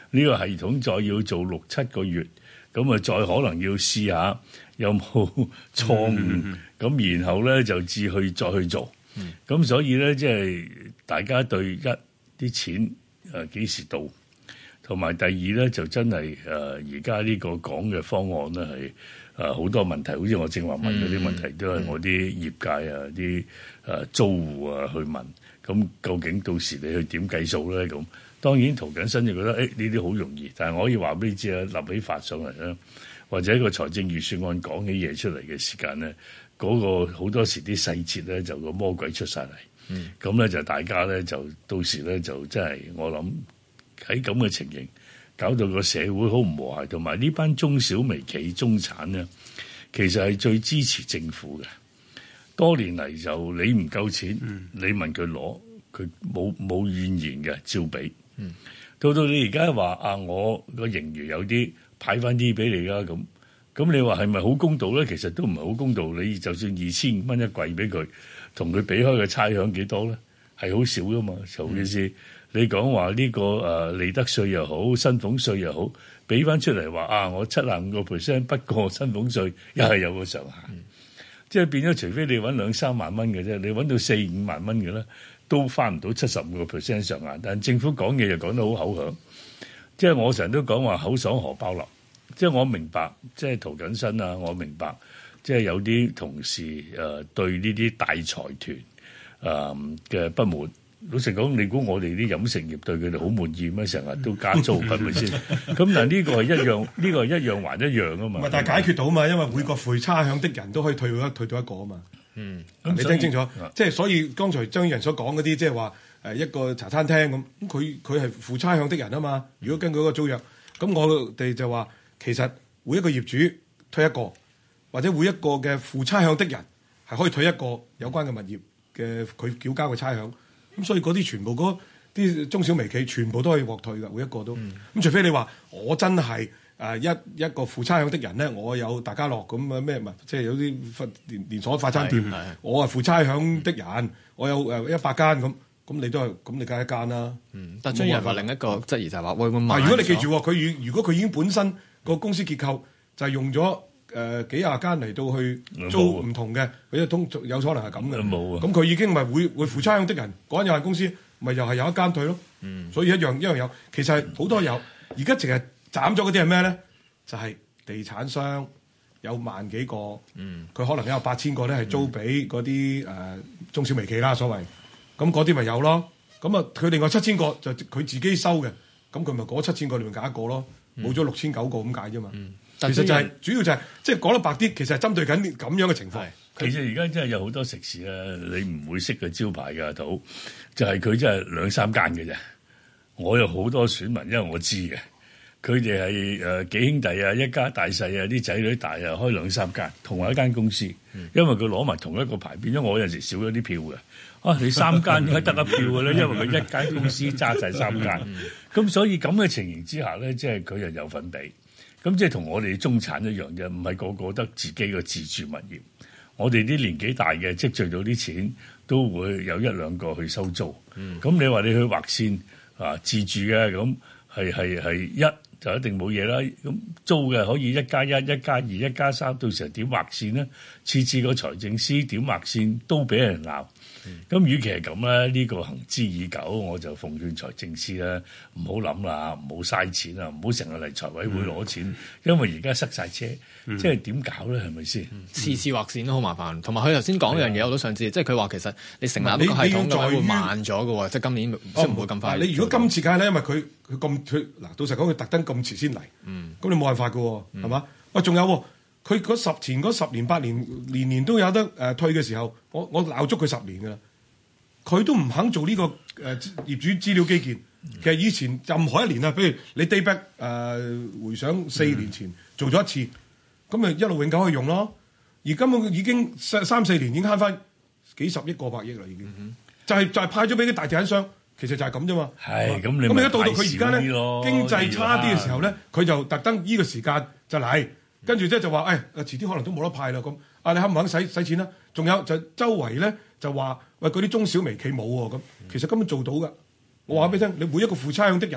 呢個系統再要做六七個月，咁啊再可能要試下有冇錯誤，咁、嗯嗯、然後咧就至去再去做。咁、嗯、所以咧即係大家對一啲錢誒幾時到，同埋第二咧就真係誒而家呢個講嘅方案咧係。誒好、呃、多問題，好似我正話問嗰啲問題，嗯、都係我啲業界啊、啲誒、呃、租戶啊去問。咁究竟到時你去點計數咧？咁當然涂謹申就覺得誒呢啲好容易，但係我可以話俾你知啊，立起法上嚟咧，或者一個財政預算案講起嘢出嚟嘅時間咧，嗰、嗰個好多時啲細節咧就個魔鬼出晒嚟。咁咧、嗯、就大家咧就到時咧就真係我諗喺咁嘅情形。搞到個社會好唔和諧，同埋呢班中小微企、中產咧，其實係最支持政府嘅。多年嚟就你唔夠錢，嗯、你問佢攞，佢冇冇怨言嘅，照俾。嗯、到到你而家話啊，我個盈餘有啲派翻啲俾你啦，咁咁你話係咪好公道咧？其實都唔係好公道。你就算二千五蚊一季俾佢，同佢俾開嘅差餉幾多咧？係好少噶嘛，尤其是。你講話呢個誒利得稅又好，薪俸稅又好，俾翻出嚟話啊，我七十五個 percent 不過薪俸稅，又係有個上限，嗯、即係變咗，除非你揾兩三萬蚊嘅啫，你揾到四五萬蚊嘅咧，都翻唔到七十五個 percent 上限。但政府講嘢又講得好口響，即係我成日都講話口爽荷包立，即係我明白，即係涂謹申啊，我明白，即係有啲同事誒、呃、對呢啲大財團誒嘅不滿。老實講，你估我哋啲飲食業對佢哋好滿意咩？成日都加租，係咪先？咁但係呢個係一樣，呢、呢個係一樣還一樣啊嘛。唔係，但係解決到啊嘛，因為每個付差餉的人都可以退到一退到一個啊嘛。嗯，你聽清楚，即係所以剛才張宇人所講嗰啲，即係話誒一個茶餐廳咁，咁佢佢係付差餉的人啊嘛。如果根據嗰個租約，咁我哋就話其實每一個業主退一個，或者每一個嘅付差餉的人係可以退一個有關嘅物業嘅佢繳交嘅差餉。咁所以嗰啲全部嗰啲中小微企全部都可以獲退㗎，每一個都。咁、嗯、除非你話我真係誒、呃、一一個付差餉的人咧，我有大家樂咁啊咩，即係有啲連連鎖快餐店，我係付差餉的人，嗯、我有誒一百間咁，咁你都係咁，你梗係一間啦。嗯，但張宇人話另一個質疑就係話會唔會慢咗？如果你記住佢如果佢已經本身個公司結構就係用咗誒、呃、幾廿間嚟到去租唔同嘅，佢通有可能係咁嘅。冇啊！咁佢已經咪會會付差餉的人嗰間有限公司，咪又係有一間退咯。嗯，所以一樣一樣有，其實好多有。而家淨係斬咗嗰啲係咩咧？就係、是、地產商有萬幾個，嗯，佢可能有八千個咧係租俾嗰啲誒中小微企啦，所謂。咁嗰啲咪有咯。咁啊，佢另外七千個就佢自己收嘅，咁佢咪嗰七千個裏面揀一個咯，冇咗六千九個咁解啫嘛。嗯其實就係、是、主要就係即係講得白啲，其實係針對緊咁樣嘅情況。其實而家真係有好多食肆咧，你唔會識嘅招牌㗎，到就係佢真係兩三間嘅啫。我有好多選民，因為我知嘅，佢哋係誒幾兄弟啊，一家大細啊，啲仔女大啊，開兩三間，同埋一間公司，因為佢攞埋同一個牌，變咗我有陣時少咗啲票嘅。啊，你三間點解得一票嘅咧？因為佢一間公司揸晒三間，咁所以咁嘅情形之下咧，即係佢又有份俾。咁即係同我哋中產一樣嘅，唔係個個得自己嘅自住物業。我哋啲年紀大嘅積聚到啲錢，都會有一兩個去收租。咁、嗯、你話你去劃線啊，自住嘅咁係係係一就一定冇嘢啦。咁租嘅可以一加一、一加二、一加三，到時候點劃線呢？次次個財政司點劃線都俾人鬧。咁，與、嗯、其係咁咧，呢、這個行之已久，我就奉勸財政司咧，唔好諗啦，唔好嘥錢啦，唔好成日嚟財委會攞錢，嗯、因為而家塞晒車，嗯、即係點搞咧？係咪先？次次劃線都好麻煩，同埋佢頭先講一樣嘢，我都想知，即係佢話其實你成立一個系統嘅話會慢咗嘅喎，即係今年即係唔會咁快。你如果今次梗係咧，因為佢佢咁佢嗱，老實講，佢特登咁遲先嚟，咁、嗯、你冇辦法嘅喎，係嘛、嗯？喂，仲有喎。佢嗰十前嗰十年八年年年都有得誒、呃、退嘅時候，我我鬧足佢十年㗎啦，佢都唔肯做呢、這個誒、呃、業主資料基建。其實以前任何一年啊，譬如你 day back 誒、呃、回想四年前、嗯、做咗一次，咁咪一路永久可以用咯。而根本已經三三四年已經慳翻幾十億過百億啦，已經、嗯、就係、是、就係、是、派咗俾啲大地產商，其實就係咁啫嘛。係咁，你咁而家到到佢而家咧經濟差啲嘅時候咧，佢就特登呢個時間就嚟。跟住即係就話，誒、哎，遲啲可能都冇得派啦咁。啊，你肯唔肯使使錢啦？仲有就周圍咧就話，喂，嗰啲中小微企冇喎咁。其實根本做到㗎。我話俾你聽，你每一個付差餉的人，嗰、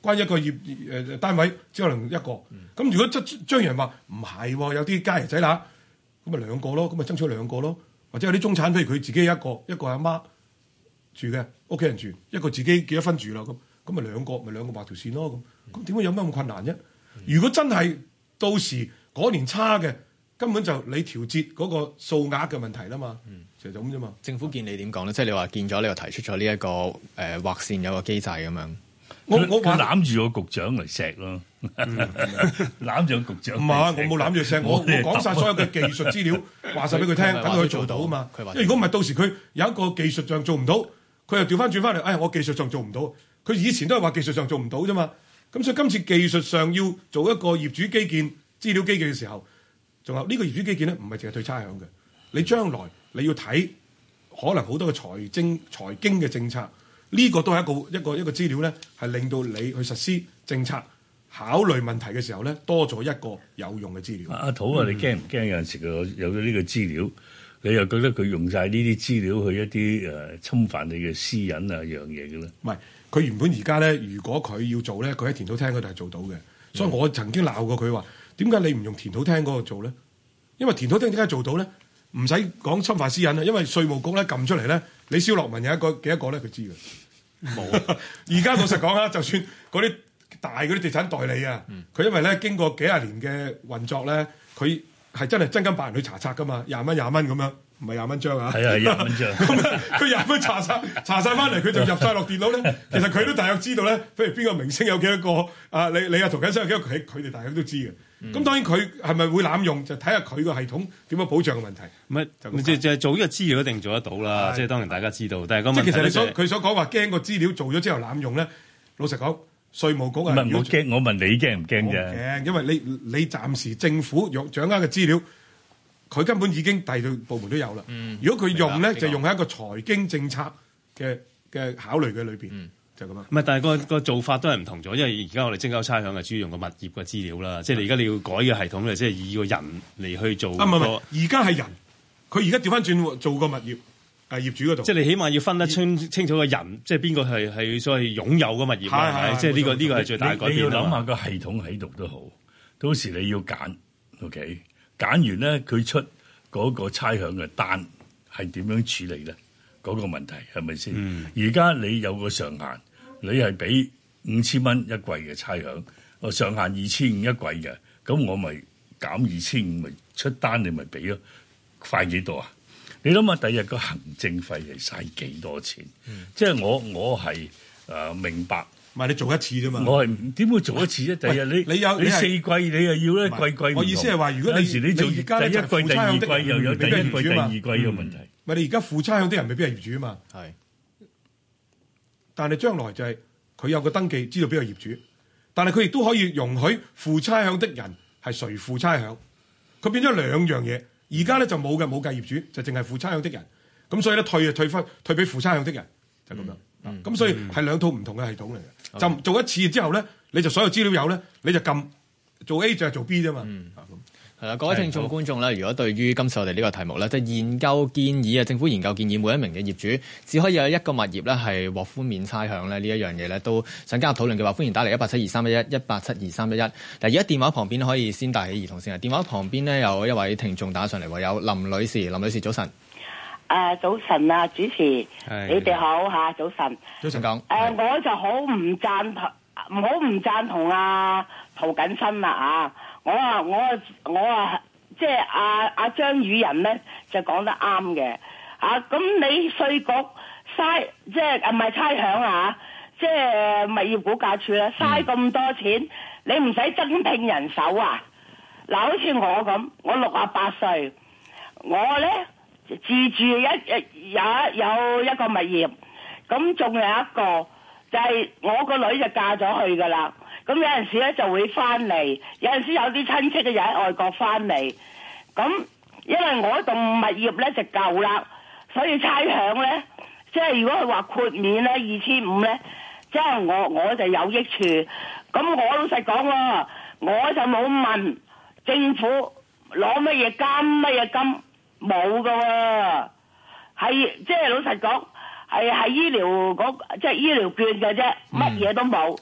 關一個業誒、呃、單位只可能一個。咁、嗯、如果張張人話唔係喎，有啲家爺仔乸，咁咪兩個咯，咁咪爭取兩個咯。或者有啲中產，譬如佢自己一個，一個阿媽住嘅，屋企人住，一個自己結咗婚住啦，咁咁咪兩個，咪兩個畫條線咯。咁咁點解有乜咁困難啫？嗯、如果真係到時嗰年差嘅，根本就你調節嗰個數額嘅問題啦嘛。嗯，就係咁啫嘛。 政府見你點講咧？即係你話見咗，你又提出咗呢一個誒、呃、劃線有個機制咁樣。 我我攬住個局長嚟錫咯，攬住個局長。唔係，我冇攬住錫，我我講晒所有嘅技術資料，話晒俾佢聽，等佢做到啊嘛。因為如果唔係，到時佢有一個技術上做唔到，佢又調翻轉翻嚟，哎，我技術上做唔到。佢以前都係話技術上做唔到啫嘛。咁所以今次技術上要做一個業主基建、資料基建嘅時候，仲有呢個業主基建咧，唔係淨係退差餉嘅。你將來你要睇可能好多嘅財政、財經嘅政策。呢個都係一個一個一個資料咧，係令到你去實施政策、考慮問題嘅時候咧，多咗一個有用嘅資料。 阿土啊，你驚唔驚有陣時佢有咗呢個資料，你又覺得佢用晒呢啲資料去一啲誒、呃、侵犯你嘅私隱啊樣嘢嘅咧？ 唔係，佢原本而家咧，如果佢要做咧，佢喺田土廳嗰度係做到嘅。所以我曾經鬧過佢話：點解你唔用田土廳嗰度做咧？因為田土廳點解做到咧？唔使講侵犯私隱啊，因為稅務局咧撳出嚟咧，你蕭樂文有一個幾多個咧，佢知嘅。冇。而家老實講啊，就算嗰啲大嗰啲地產代理啊，佢、嗯、因為咧經過幾廿年嘅運作咧，佢係真係真金白銀去查冊噶嘛，廿蚊廿蚊咁樣，唔係廿蚊張啊。係啊，廿蚊張。咁佢廿蚊查曬查曬翻嚟，佢就入晒落電腦咧。其實佢都大約知道咧，譬如邊個明星有幾多個啊？你你啊涂謹申有幾多個？佢佢哋大約都知嘅。咁、嗯、當然佢係咪會濫用，就睇下佢個系統點樣保障嘅問題。唔係就就係做呢個資料一定做得到啦，即係當然大家知道。但係個問題即係其實你所佢所講話驚個資料做咗之後濫用咧，老實講，稅務局係唔係唔好驚？我問你驚唔驚啫？驚，因為你你暫時政府用掌握嘅資料，佢根本已經第二部門都有啦、嗯。如果佢用咧，就用喺一個財經政策嘅嘅考慮嘅裏邊。嗯就咁樣，唔係，但係個個做法都係唔同咗，因為而家我哋徵收差餉係主要用個物業嘅資料啦，即係你而家你要改嘅系統咧，即係以個人嚟去做。啊唔係唔係，而家係人，佢而家調翻轉做個物業啊業主嗰度。即係你起碼要分得清清楚個人，即係邊個係係所謂擁有個物業係係，即係呢個呢個係最大嘅改變。你要諗下個系統喺度都好，到時你要揀 ，OK， 揀完咧佢出嗰個差餉嘅單係點樣處理咧？嗰、那個問題係咪先？而、嗯、家你有個上限，你係俾五千蚊一季嘅差餉，我上限二千五一季嘅，咁我咪減二千五，咪出單你咪俾咯，快幾多啊？你諗下，第日個行政費係嘥幾多錢？嗯、即係我我係誒、呃、明白，唔係你做一次啫嘛。我係點會做一次啫？第日你你有你四季你又要咧季季。我意思係話，如果你有時你做你第一季、第二季又有第一季、第二季嘅問題。咪、嗯、你而家付差餉啲人未必係業主啊嘛。係，但係將來就係佢有個登記，知道邊個業主，但係佢亦都可以容許付差餉的人係誰付差餉。佢變咗兩樣嘢。而家咧就冇嘅，冇計業主，就淨係付差餉的人。咁所以咧退就退翻，退俾付差餉的人，就咁樣。咁、嗯嗯、所以係兩套唔同嘅系統嚟嘅。就、嗯、做一次之後咧，你就所有資料有咧，你就撳做 A 就係做 B 啫嘛。嗯係啦，各位聽眾觀眾咧，如果對於今次我哋呢個題目咧，即係研究建議啊，政府研究建議每一名嘅業主只可以有一個物業咧係獲寬免差餉咧，呢一樣嘢咧都想加入討論嘅話，歡迎打嚟一八七二三一一一八七二三一一。嗱，而家電話旁邊可以先帶起兒童先啊。電話旁邊呢，有一位聽眾打上嚟，有林女士，林女士早晨。誒、 呃，早晨啊，主持，你哋好嚇，早晨。早晨講。誒、呃，我就好唔贊同，唔好唔贊同啊涂謹申啦啊！我啊，我啊，我啊，即係阿阿張宇人咧就講得啱嘅啊！咁你稅局嘥，即係唔係差餉啊？即係物業估價署啦，嘥咁多錢，嗯、你唔使增聘人手啊？嗱，好似我咁，我六啊八歲，我咧自住一有有一個物業，咁仲有一個就係、是、我個女就嫁咗去噶啦。咁有陣時咧就會翻嚟，有陣時有啲親戚嘅又喺外國翻嚟。咁因為我棟物業咧就舊啦，所以差餉咧，即係如果佢話豁免咧二千五咧，即係我我就有益處。咁我老實講喎，我就冇問政府攞乜嘢金乜嘢金，冇噶喎，係即係老實講係係醫療嗰即係醫療券嘅啫，乜嘢都冇。咁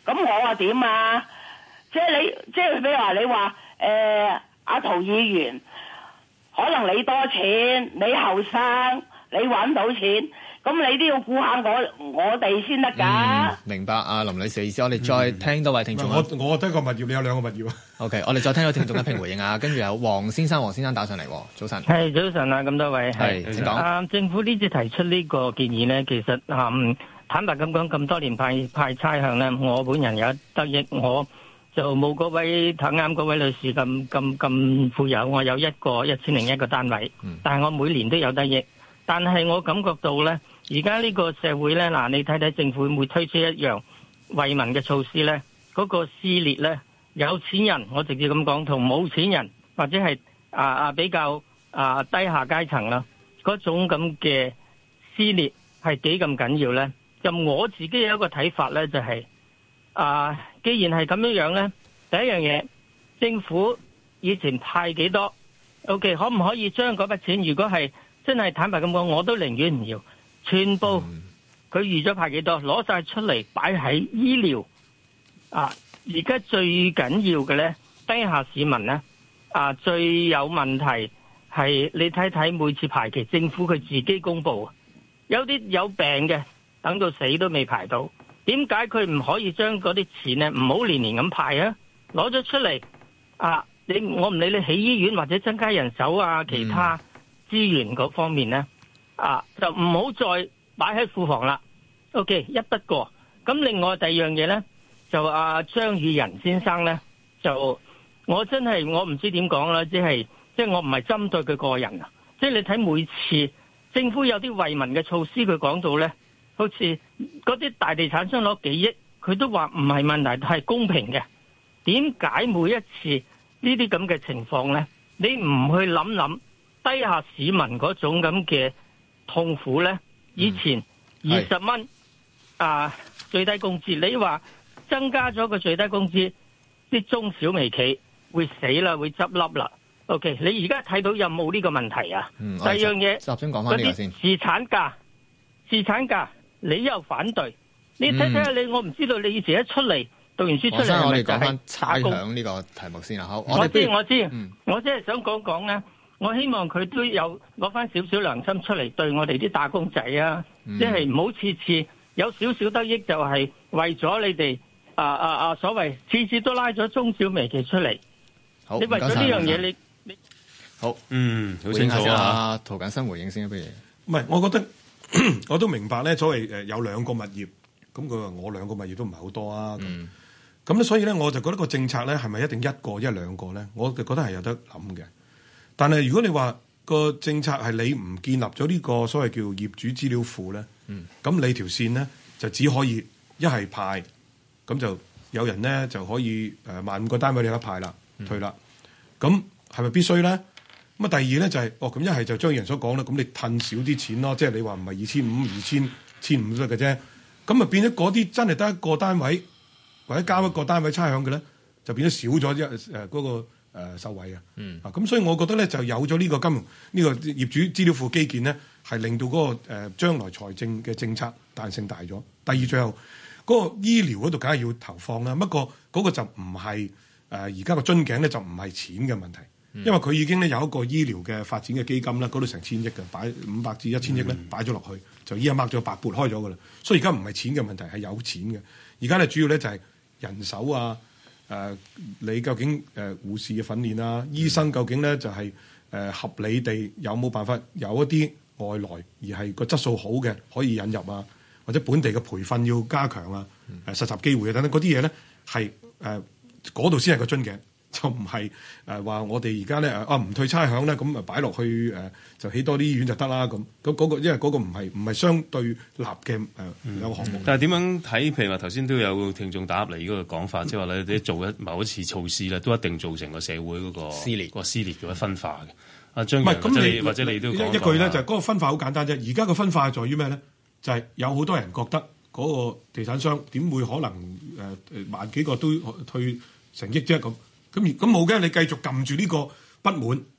咁我話點啊？即係你，即係比如話你話誒阿陶議員，可能你多錢，你後生，你揾到錢。咁你都要顧下我我哋先得㗎。 明白啊，林女士嘅意思。我哋再聽多位聽眾、嗯。 我我得個物業，你有兩個物業啊。 OK， 我哋再聽到聽眾一併回應啊。跟住有黃先生，黃先生打上嚟。早晨。 係早晨啊，咁多位係請講。 啊，政府呢次提出呢個建議呢，其實啊、嗯，坦白咁講，咁多年派派差餉呢，我本人有得益，我就冇嗰位睇啱嗰位女士咁咁咁富有，我有一個一千零一個單位，嗯、但係我每年都有得益。但係我感覺到呢，而家呢個社會呢，嗱，你睇睇政府會唔會推出一樣惠民嘅措施呢？嗰、嗰個撕裂呢，有錢人我直接咁講，同冇錢人或者係啊啊比較啊低下階層啦，嗰種咁嘅撕裂係幾咁緊要呢？就我自己有一個睇法呢，就係、是、啊，既然係咁樣樣呢，第一樣嘢，政府以前派幾多 ？OK， 可唔可以將嗰筆錢，如果係真係坦白咁講，我都寧願唔要，全部佢預咗派幾多，攞晒出嚟擺喺醫療啊！而家最緊要嘅呢，低下市民呢，啊，最有問題係你睇睇每次排期，政府佢自己公布，有啲有病嘅等到死都未排到，點解佢唔可以將嗰啲錢呢唔好年年咁派啊？攞咗出嚟啊！你我唔理你起醫院或者增加人手啊，其他。嗯資源嗰方面呢，啊，就唔好再擺喺庫房啦。OK， 一筆過。咁另外第二樣嘢呢，就阿、啊、張宇人先生呢，就我真係我唔知點講啦，即係即係我唔係針對佢個人啊。即係你睇每次政府有啲惠民嘅措施，佢講到呢，好似嗰啲大地產商攞幾億，佢都話唔係問題，係公平嘅。點解每一次呢啲咁嘅情況呢，你唔去諗諗？低下市民嗰種咁嘅痛苦呢，以前二十蚊啊最低工資，你話增加咗個最低工資，啲中小微企會死啦，會執笠啦。OK， 你而家睇到有冇呢個問題啊？嗯、第二樣嘢，集中講翻呢個先。侍產假，侍產假，你又反對？你睇睇下你，我唔知道你以前一出嚟讀完書出嚟， 我哋講翻差餉呢個題目先啊。好， 我知我知，嗯、我即係想講講呢。我希望佢都有攞翻少少良心出嚟對我哋啲打工仔啊，嗯、即係唔好次次有少少得益就係為咗你哋啊啊啊所謂次次都拉咗中小微企出嚟。 好， 你為咗呢樣嘢你你好嗯好清楚啊。 涂謹申回應先，不如唔係，我覺得我都明白咧，所謂誒有兩個物業，咁佢話我兩個物業都唔係好多啊。咁咁咧，所以咧我就覺得個政策咧係咪一定一個一兩個咧？我就覺得係有得諗嘅。但係如果你話個政策係你唔建立咗呢個所謂叫業主資料庫咧，咁、嗯、你條線咧就只可以一係派，咁就有人咧就可以誒萬五個單位你有得派啦，退啦。咁係咪必須咧？咁啊第二咧就係、是、哦咁一係就張宇人所講啦，咁你褪少啲錢咯，即係你話唔係二千五、二千、千五都得嘅啫。咁啊變咗嗰啲真係得一個單位或者交一個單位差餉嘅咧，就變咗少咗一誒嗰個。誒、呃、受惠啊，嗯、啊咁所以我覺得咧就有咗呢個金融呢、這個業主資料庫基建咧，係令到嗰、那個誒、呃、將來財政嘅政策彈性大咗。第二最後嗰、那個醫療嗰度梗係要投放啦，不過嗰個就唔係誒而家個樽頸咧就唔係錢嘅問題，嗯、因為佢已經咧有一個醫療嘅發展嘅基金啦，嗰度成千億嘅擺五百至一千億咧擺咗落去，就依家掹咗白撥開咗噶啦，所以而家唔係錢嘅問題係有錢嘅，而家咧主要咧就係人手啊。誒、呃，你究竟誒、呃、護士嘅訓練啊，醫生究竟咧就係、是、誒、呃、合理地有冇辦法有一啲外來而係個質素好嘅可以引入啊，或者本地嘅培訓要加強啊，誒、呃、實習機會啊等等嗰啲嘢咧係誒嗰度先係個樽頸，就唔係誒話我哋而家咧啊唔退差餉咧，咁啊擺落去誒、呃、就起多啲醫院就得啦咁。咁嗰、那個因為嗰個唔係唔係相對立嘅誒兩個項目。 嗯、但係點樣睇？譬如話頭先都有聽眾打入嚟嗰個講法，即係話你做一某一次措施咧，都一定造成個社會嗰個撕裂、 個撕裂嘅分化嘅。阿張宇人或者你或者你都講一句咧，就係、是、嗰個分化好簡單啫。而家個分化在於咩咧？就係、是、有好多人覺得嗰個地產商點會可能誒誒、呃、萬幾個都退成億啫咁。咁咁冇嘅，你繼續撳住呢個不滿，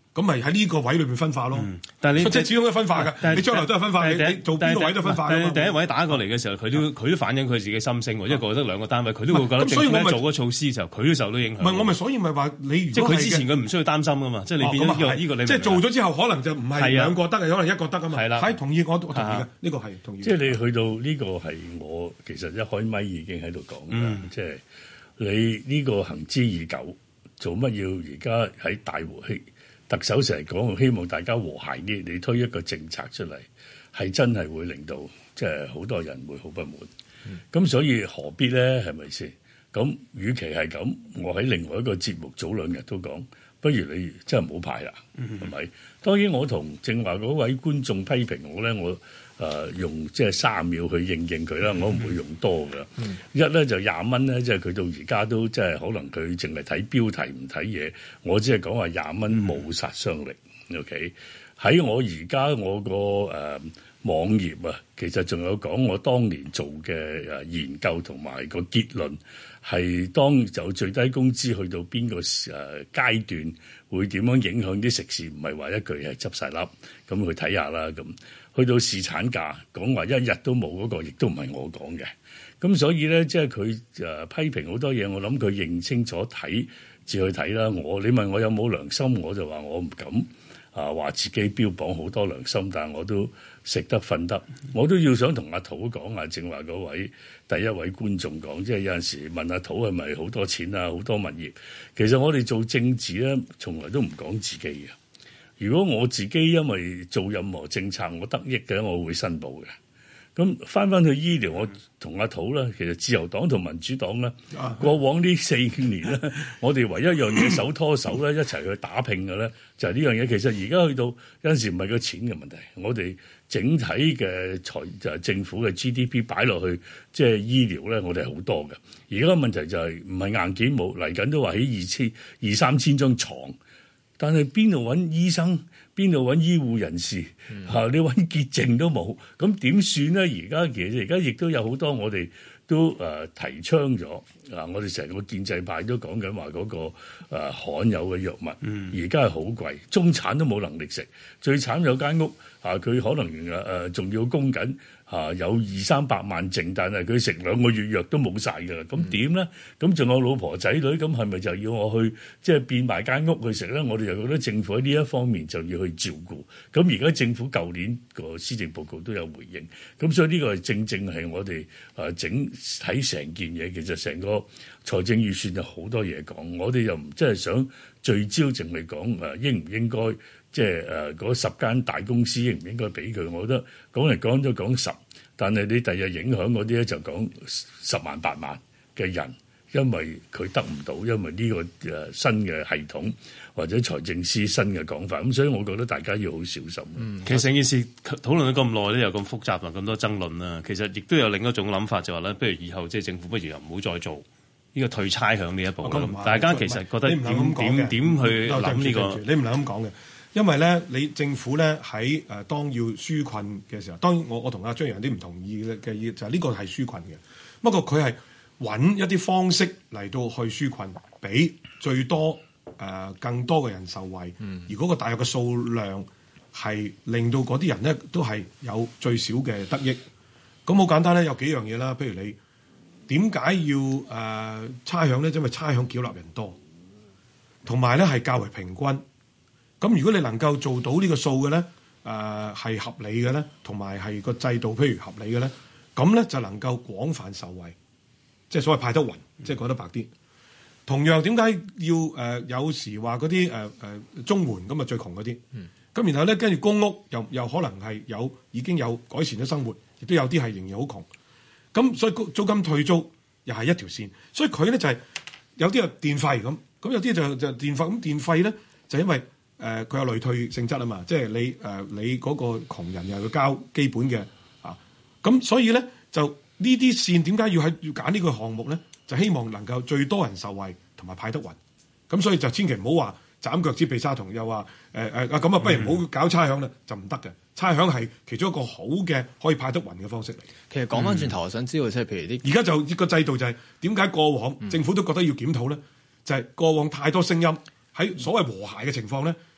咁咪喺呢個位裏面分化咯。 嗯、但係你即係始終都分化㗎。你將來都係分化，你你做邊個位都分化。 但係第一位打過嚟嘅時候，佢都佢都反映佢自己心聲喎，因為覺得兩個單位，佢都會覺得政府做嗰個措施嘅時候，佢都受到影響。 唔係我咪所以咪話你如果即係佢之前佢唔需要擔心㗎嘛，即係你變咗呢個呢個你即係做咗之後，可能就唔係兩個得嘅，可能一個得㗎嘛。係啦，係同意我我同意嘅，呢個係同意。 即係你去到呢個係我其實一開咪已經喺度講嘅，即係你呢個行之已久，做乜要而家喺大和氣？特首成日講希望大家和諧啲，你推一個政策出嚟，係真係會令到即係好多人會好不滿。咁、嗯、所以何必咧？係咪先？咁與其係咁，我喺另外一個節目早兩日都講，不如你真係唔好派啦，係咪、嗯？當然我同正話嗰位觀眾批評我咧，我。誒、呃、用即係三秒去應應佢啦，我唔會用多㗎。嗯、一咧就廿蚊咧，即係佢到而家都即係可能佢淨係睇標題唔睇嘢。我只係講話廿蚊冇殺傷力。嗯、OK，喺我而家我個誒、呃、網頁啊，其實仲有講我當年做嘅誒研究同埋個結論係當有最低工資去到邊個誒階段會點樣影響啲食肆，唔係話一句係執晒粒咁去睇下啦咁。去到侍產假講話一日都冇嗰、那個，亦都唔係我講嘅。咁所以咧，即係佢誒批評好多嘢，我諗佢認清楚睇至去睇啦。我你問我有冇良心，我就話我唔敢啊，話自己標榜好多良心，但係我都食得瞓得，我都要想同阿土講啊，正話嗰位第一位觀眾講，即係有陣時問阿土係咪好多錢啊，好多物業。其實我哋做政治咧，從來都唔講自己嘅。如果我自己因為做任何政策我得益嘅，我會申報嘅。咁翻翻去醫療，我同阿土啦，其實自由黨同民主黨咧，過往呢四年咧，我哋唯一一樣嘢手拖手咧，一齊去打拼嘅咧，就係呢樣嘢。其實而家去到有陣時唔係個錢嘅問題，我哋整體嘅財就係政府嘅 G D P 擺落去，即係醫療咧，我哋係好多嘅。而家個問題就係唔係硬件冇，嚟緊都話起二千二三千張床。但係邊度揾醫生，邊度揾醫護人士？嚇、嗯啊，你揾潔淨都冇，咁點算咧？而家其實而家亦都有好多我哋都誒、呃、提倡咗啊！我哋成個建制派都講緊話嗰個誒、呃、罕有嘅藥物，而家係好貴，中產都冇能力食。最慘有間屋啊，佢可能誒仲、呃、要供緊。啊，有二三百萬剩，但係佢食兩個月藥都冇晒㗎啦。咁點咧？咁仲有老婆仔女，咁係咪就要我去即係變埋間屋去食咧？我哋就覺得政府喺呢一方面就要去照顧。咁而家政府舊年個施政報告都有回應。咁所以呢個係正正係我哋誒整睇成件嘢，其實成個財政預算有好多嘢講。我哋又唔即係想聚焦淨係講誒應唔應該。即係誒嗰十間大公司應唔應該俾佢？我覺得講嚟講都講十，但係你第日影響嗰啲咧就講十萬八萬嘅人，因為佢得唔到，因為呢個誒新嘅系統或者財政司新嘅講法，咁所以我覺得大家要好小心。 嗯，其實成件事討論咗咁耐咧，又咁複雜同咁多爭論啦，其實亦都有另一種諗法，就話咧，不如以後即係政府不如又唔好再做呢個退差餉呢一步啦。大家其實覺得點點點去諗呢個？ 你唔能咁講嘅。因為咧，你政府咧喺誒當要紓困嘅時候，當然我我同阿張宇人啲唔同意嘅嘅意就係呢個係紓困嘅。不過佢係揾一啲方式嚟到去紓困，俾最多誒、呃、更多嘅人受惠。嗯、而嗰個大約嘅數量係令到嗰啲人咧都係有最少嘅得益。咁好簡單咧，有幾樣嘢啦。譬如你點解要誒、呃、差餉咧？因為差餉繳納人多，同埋咧係較為平均。咁如果你能夠做到呢個數嘅咧，誒、呃、係合理嘅咧，同埋係個制度譬如合理嘅咧，咁咧就能夠廣泛受惠，即係所謂派得勻，即係講得白啲。同樣點解要誒、呃、有時話嗰啲誒誒綜援咁啊最窮嗰啲，咁、嗯、然後咧跟住公屋又又可能係有已經有改善咗生活，亦都有啲係仍然好窮。咁所以租金退租又係一條線，所以佢咧就係、是、有啲係電費咁，咁有啲就就電費咁電費咧就因為。誒佢、呃、有累退性質啊嘛，即係你誒、呃、你嗰個窮人又要交基本嘅啊，咁所以咧就呢啲線點解要喺要揀呢個項目咧？就希望能夠最多人受惠同埋派得勻，咁所以就千祈唔好話斬腳趾避沙蟲，又話誒誒啊咁啊，不如唔好搞差餉啦，就唔得嘅。差餉係其中一個好嘅可以派得勻嘅方式嚟。 其實講翻轉頭，我想知道即係譬如啲而家就呢個制度就係點解過往、嗯、政府都覺得要檢討咧？就係、是、過往太多聲音喺所謂和諧嘅情況咧。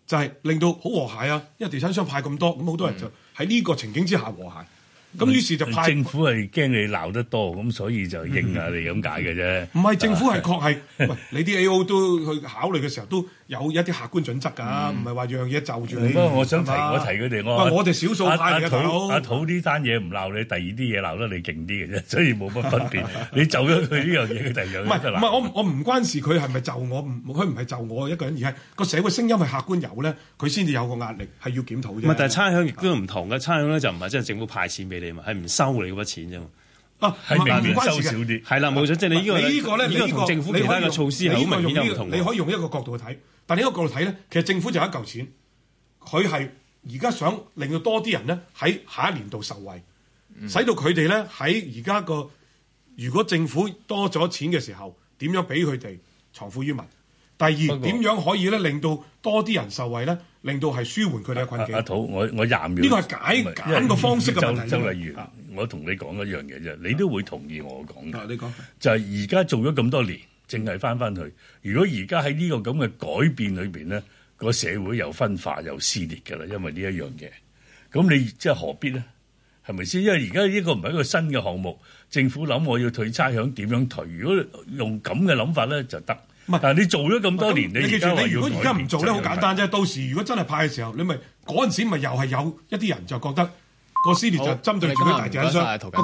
就係令到好和諧啊，因為地產商派咁多，咁好多人就喺呢個情景之下和諧。咁、嗯、於是就派政府係驚你鬧得多，咁所以就應下你咁解嘅啫。唔係政府係確係，喂你啲 A O 都去考慮嘅時候都有一啲客觀準則㗎，唔係話樣嘢就住你。 不過我想提我提佢哋，我我哋少數派嘅大佬。 阿土呢單嘢唔鬧你，第二啲嘢鬧得你勁啲嘅啫，所以冇乜分別。你就咗佢呢樣嘢，佢第二樣嘢就鬧。唔係我我唔關事，佢係咪就我？佢唔係就我一個人，而係個社會聲音係客觀有咧，佢先至有個壓力係要檢討啫。 唔係，但係差餉亦都唔同嘅，差餉咧就唔係真係政府派錢俾你嘛，係唔收你嗰筆錢啫嘛。 啊， 係明年收少啲， 係啦，冇錯，即係你呢個呢個咧， 呢個同政府其他嘅措施係好明顯有唔同。 你可以用一個角度去睇，但係呢個角度睇咧，其實政府就有一嚿錢，佢係而家想令到多啲人咧喺下一年度受惠，嗯、使到佢哋咧喺而家個如果政府多咗錢嘅時候，點樣俾佢哋藏富於民？第二點樣可以咧令到多啲人受惠咧，令到係舒緩佢哋嘅困境。 阿土，我我廿秒。 呢個係解揀個方式嘅問題。 周周例如，我同你講一樣嘢啫，你都會同意我講嘅。 你講就係而家做咗咁多年，淨係翻翻去。如果而家喺呢個咁嘅改變裏邊咧，個社會又分化又撕裂㗎啦，因為呢一樣嘢。咁你即係何必咧？係咪先？因為而家呢個唔係一個新嘅項目，政府諗我要退差餉點樣退？如果用咁嘅諗法咧，就得。但係你做咗咁多年，你記住，你如果而家唔做咧，好簡單啫。到時如果真係派嘅時候，你咪嗰陣時咪又係有一啲人就覺得個撕裂就針對住啲大地產商。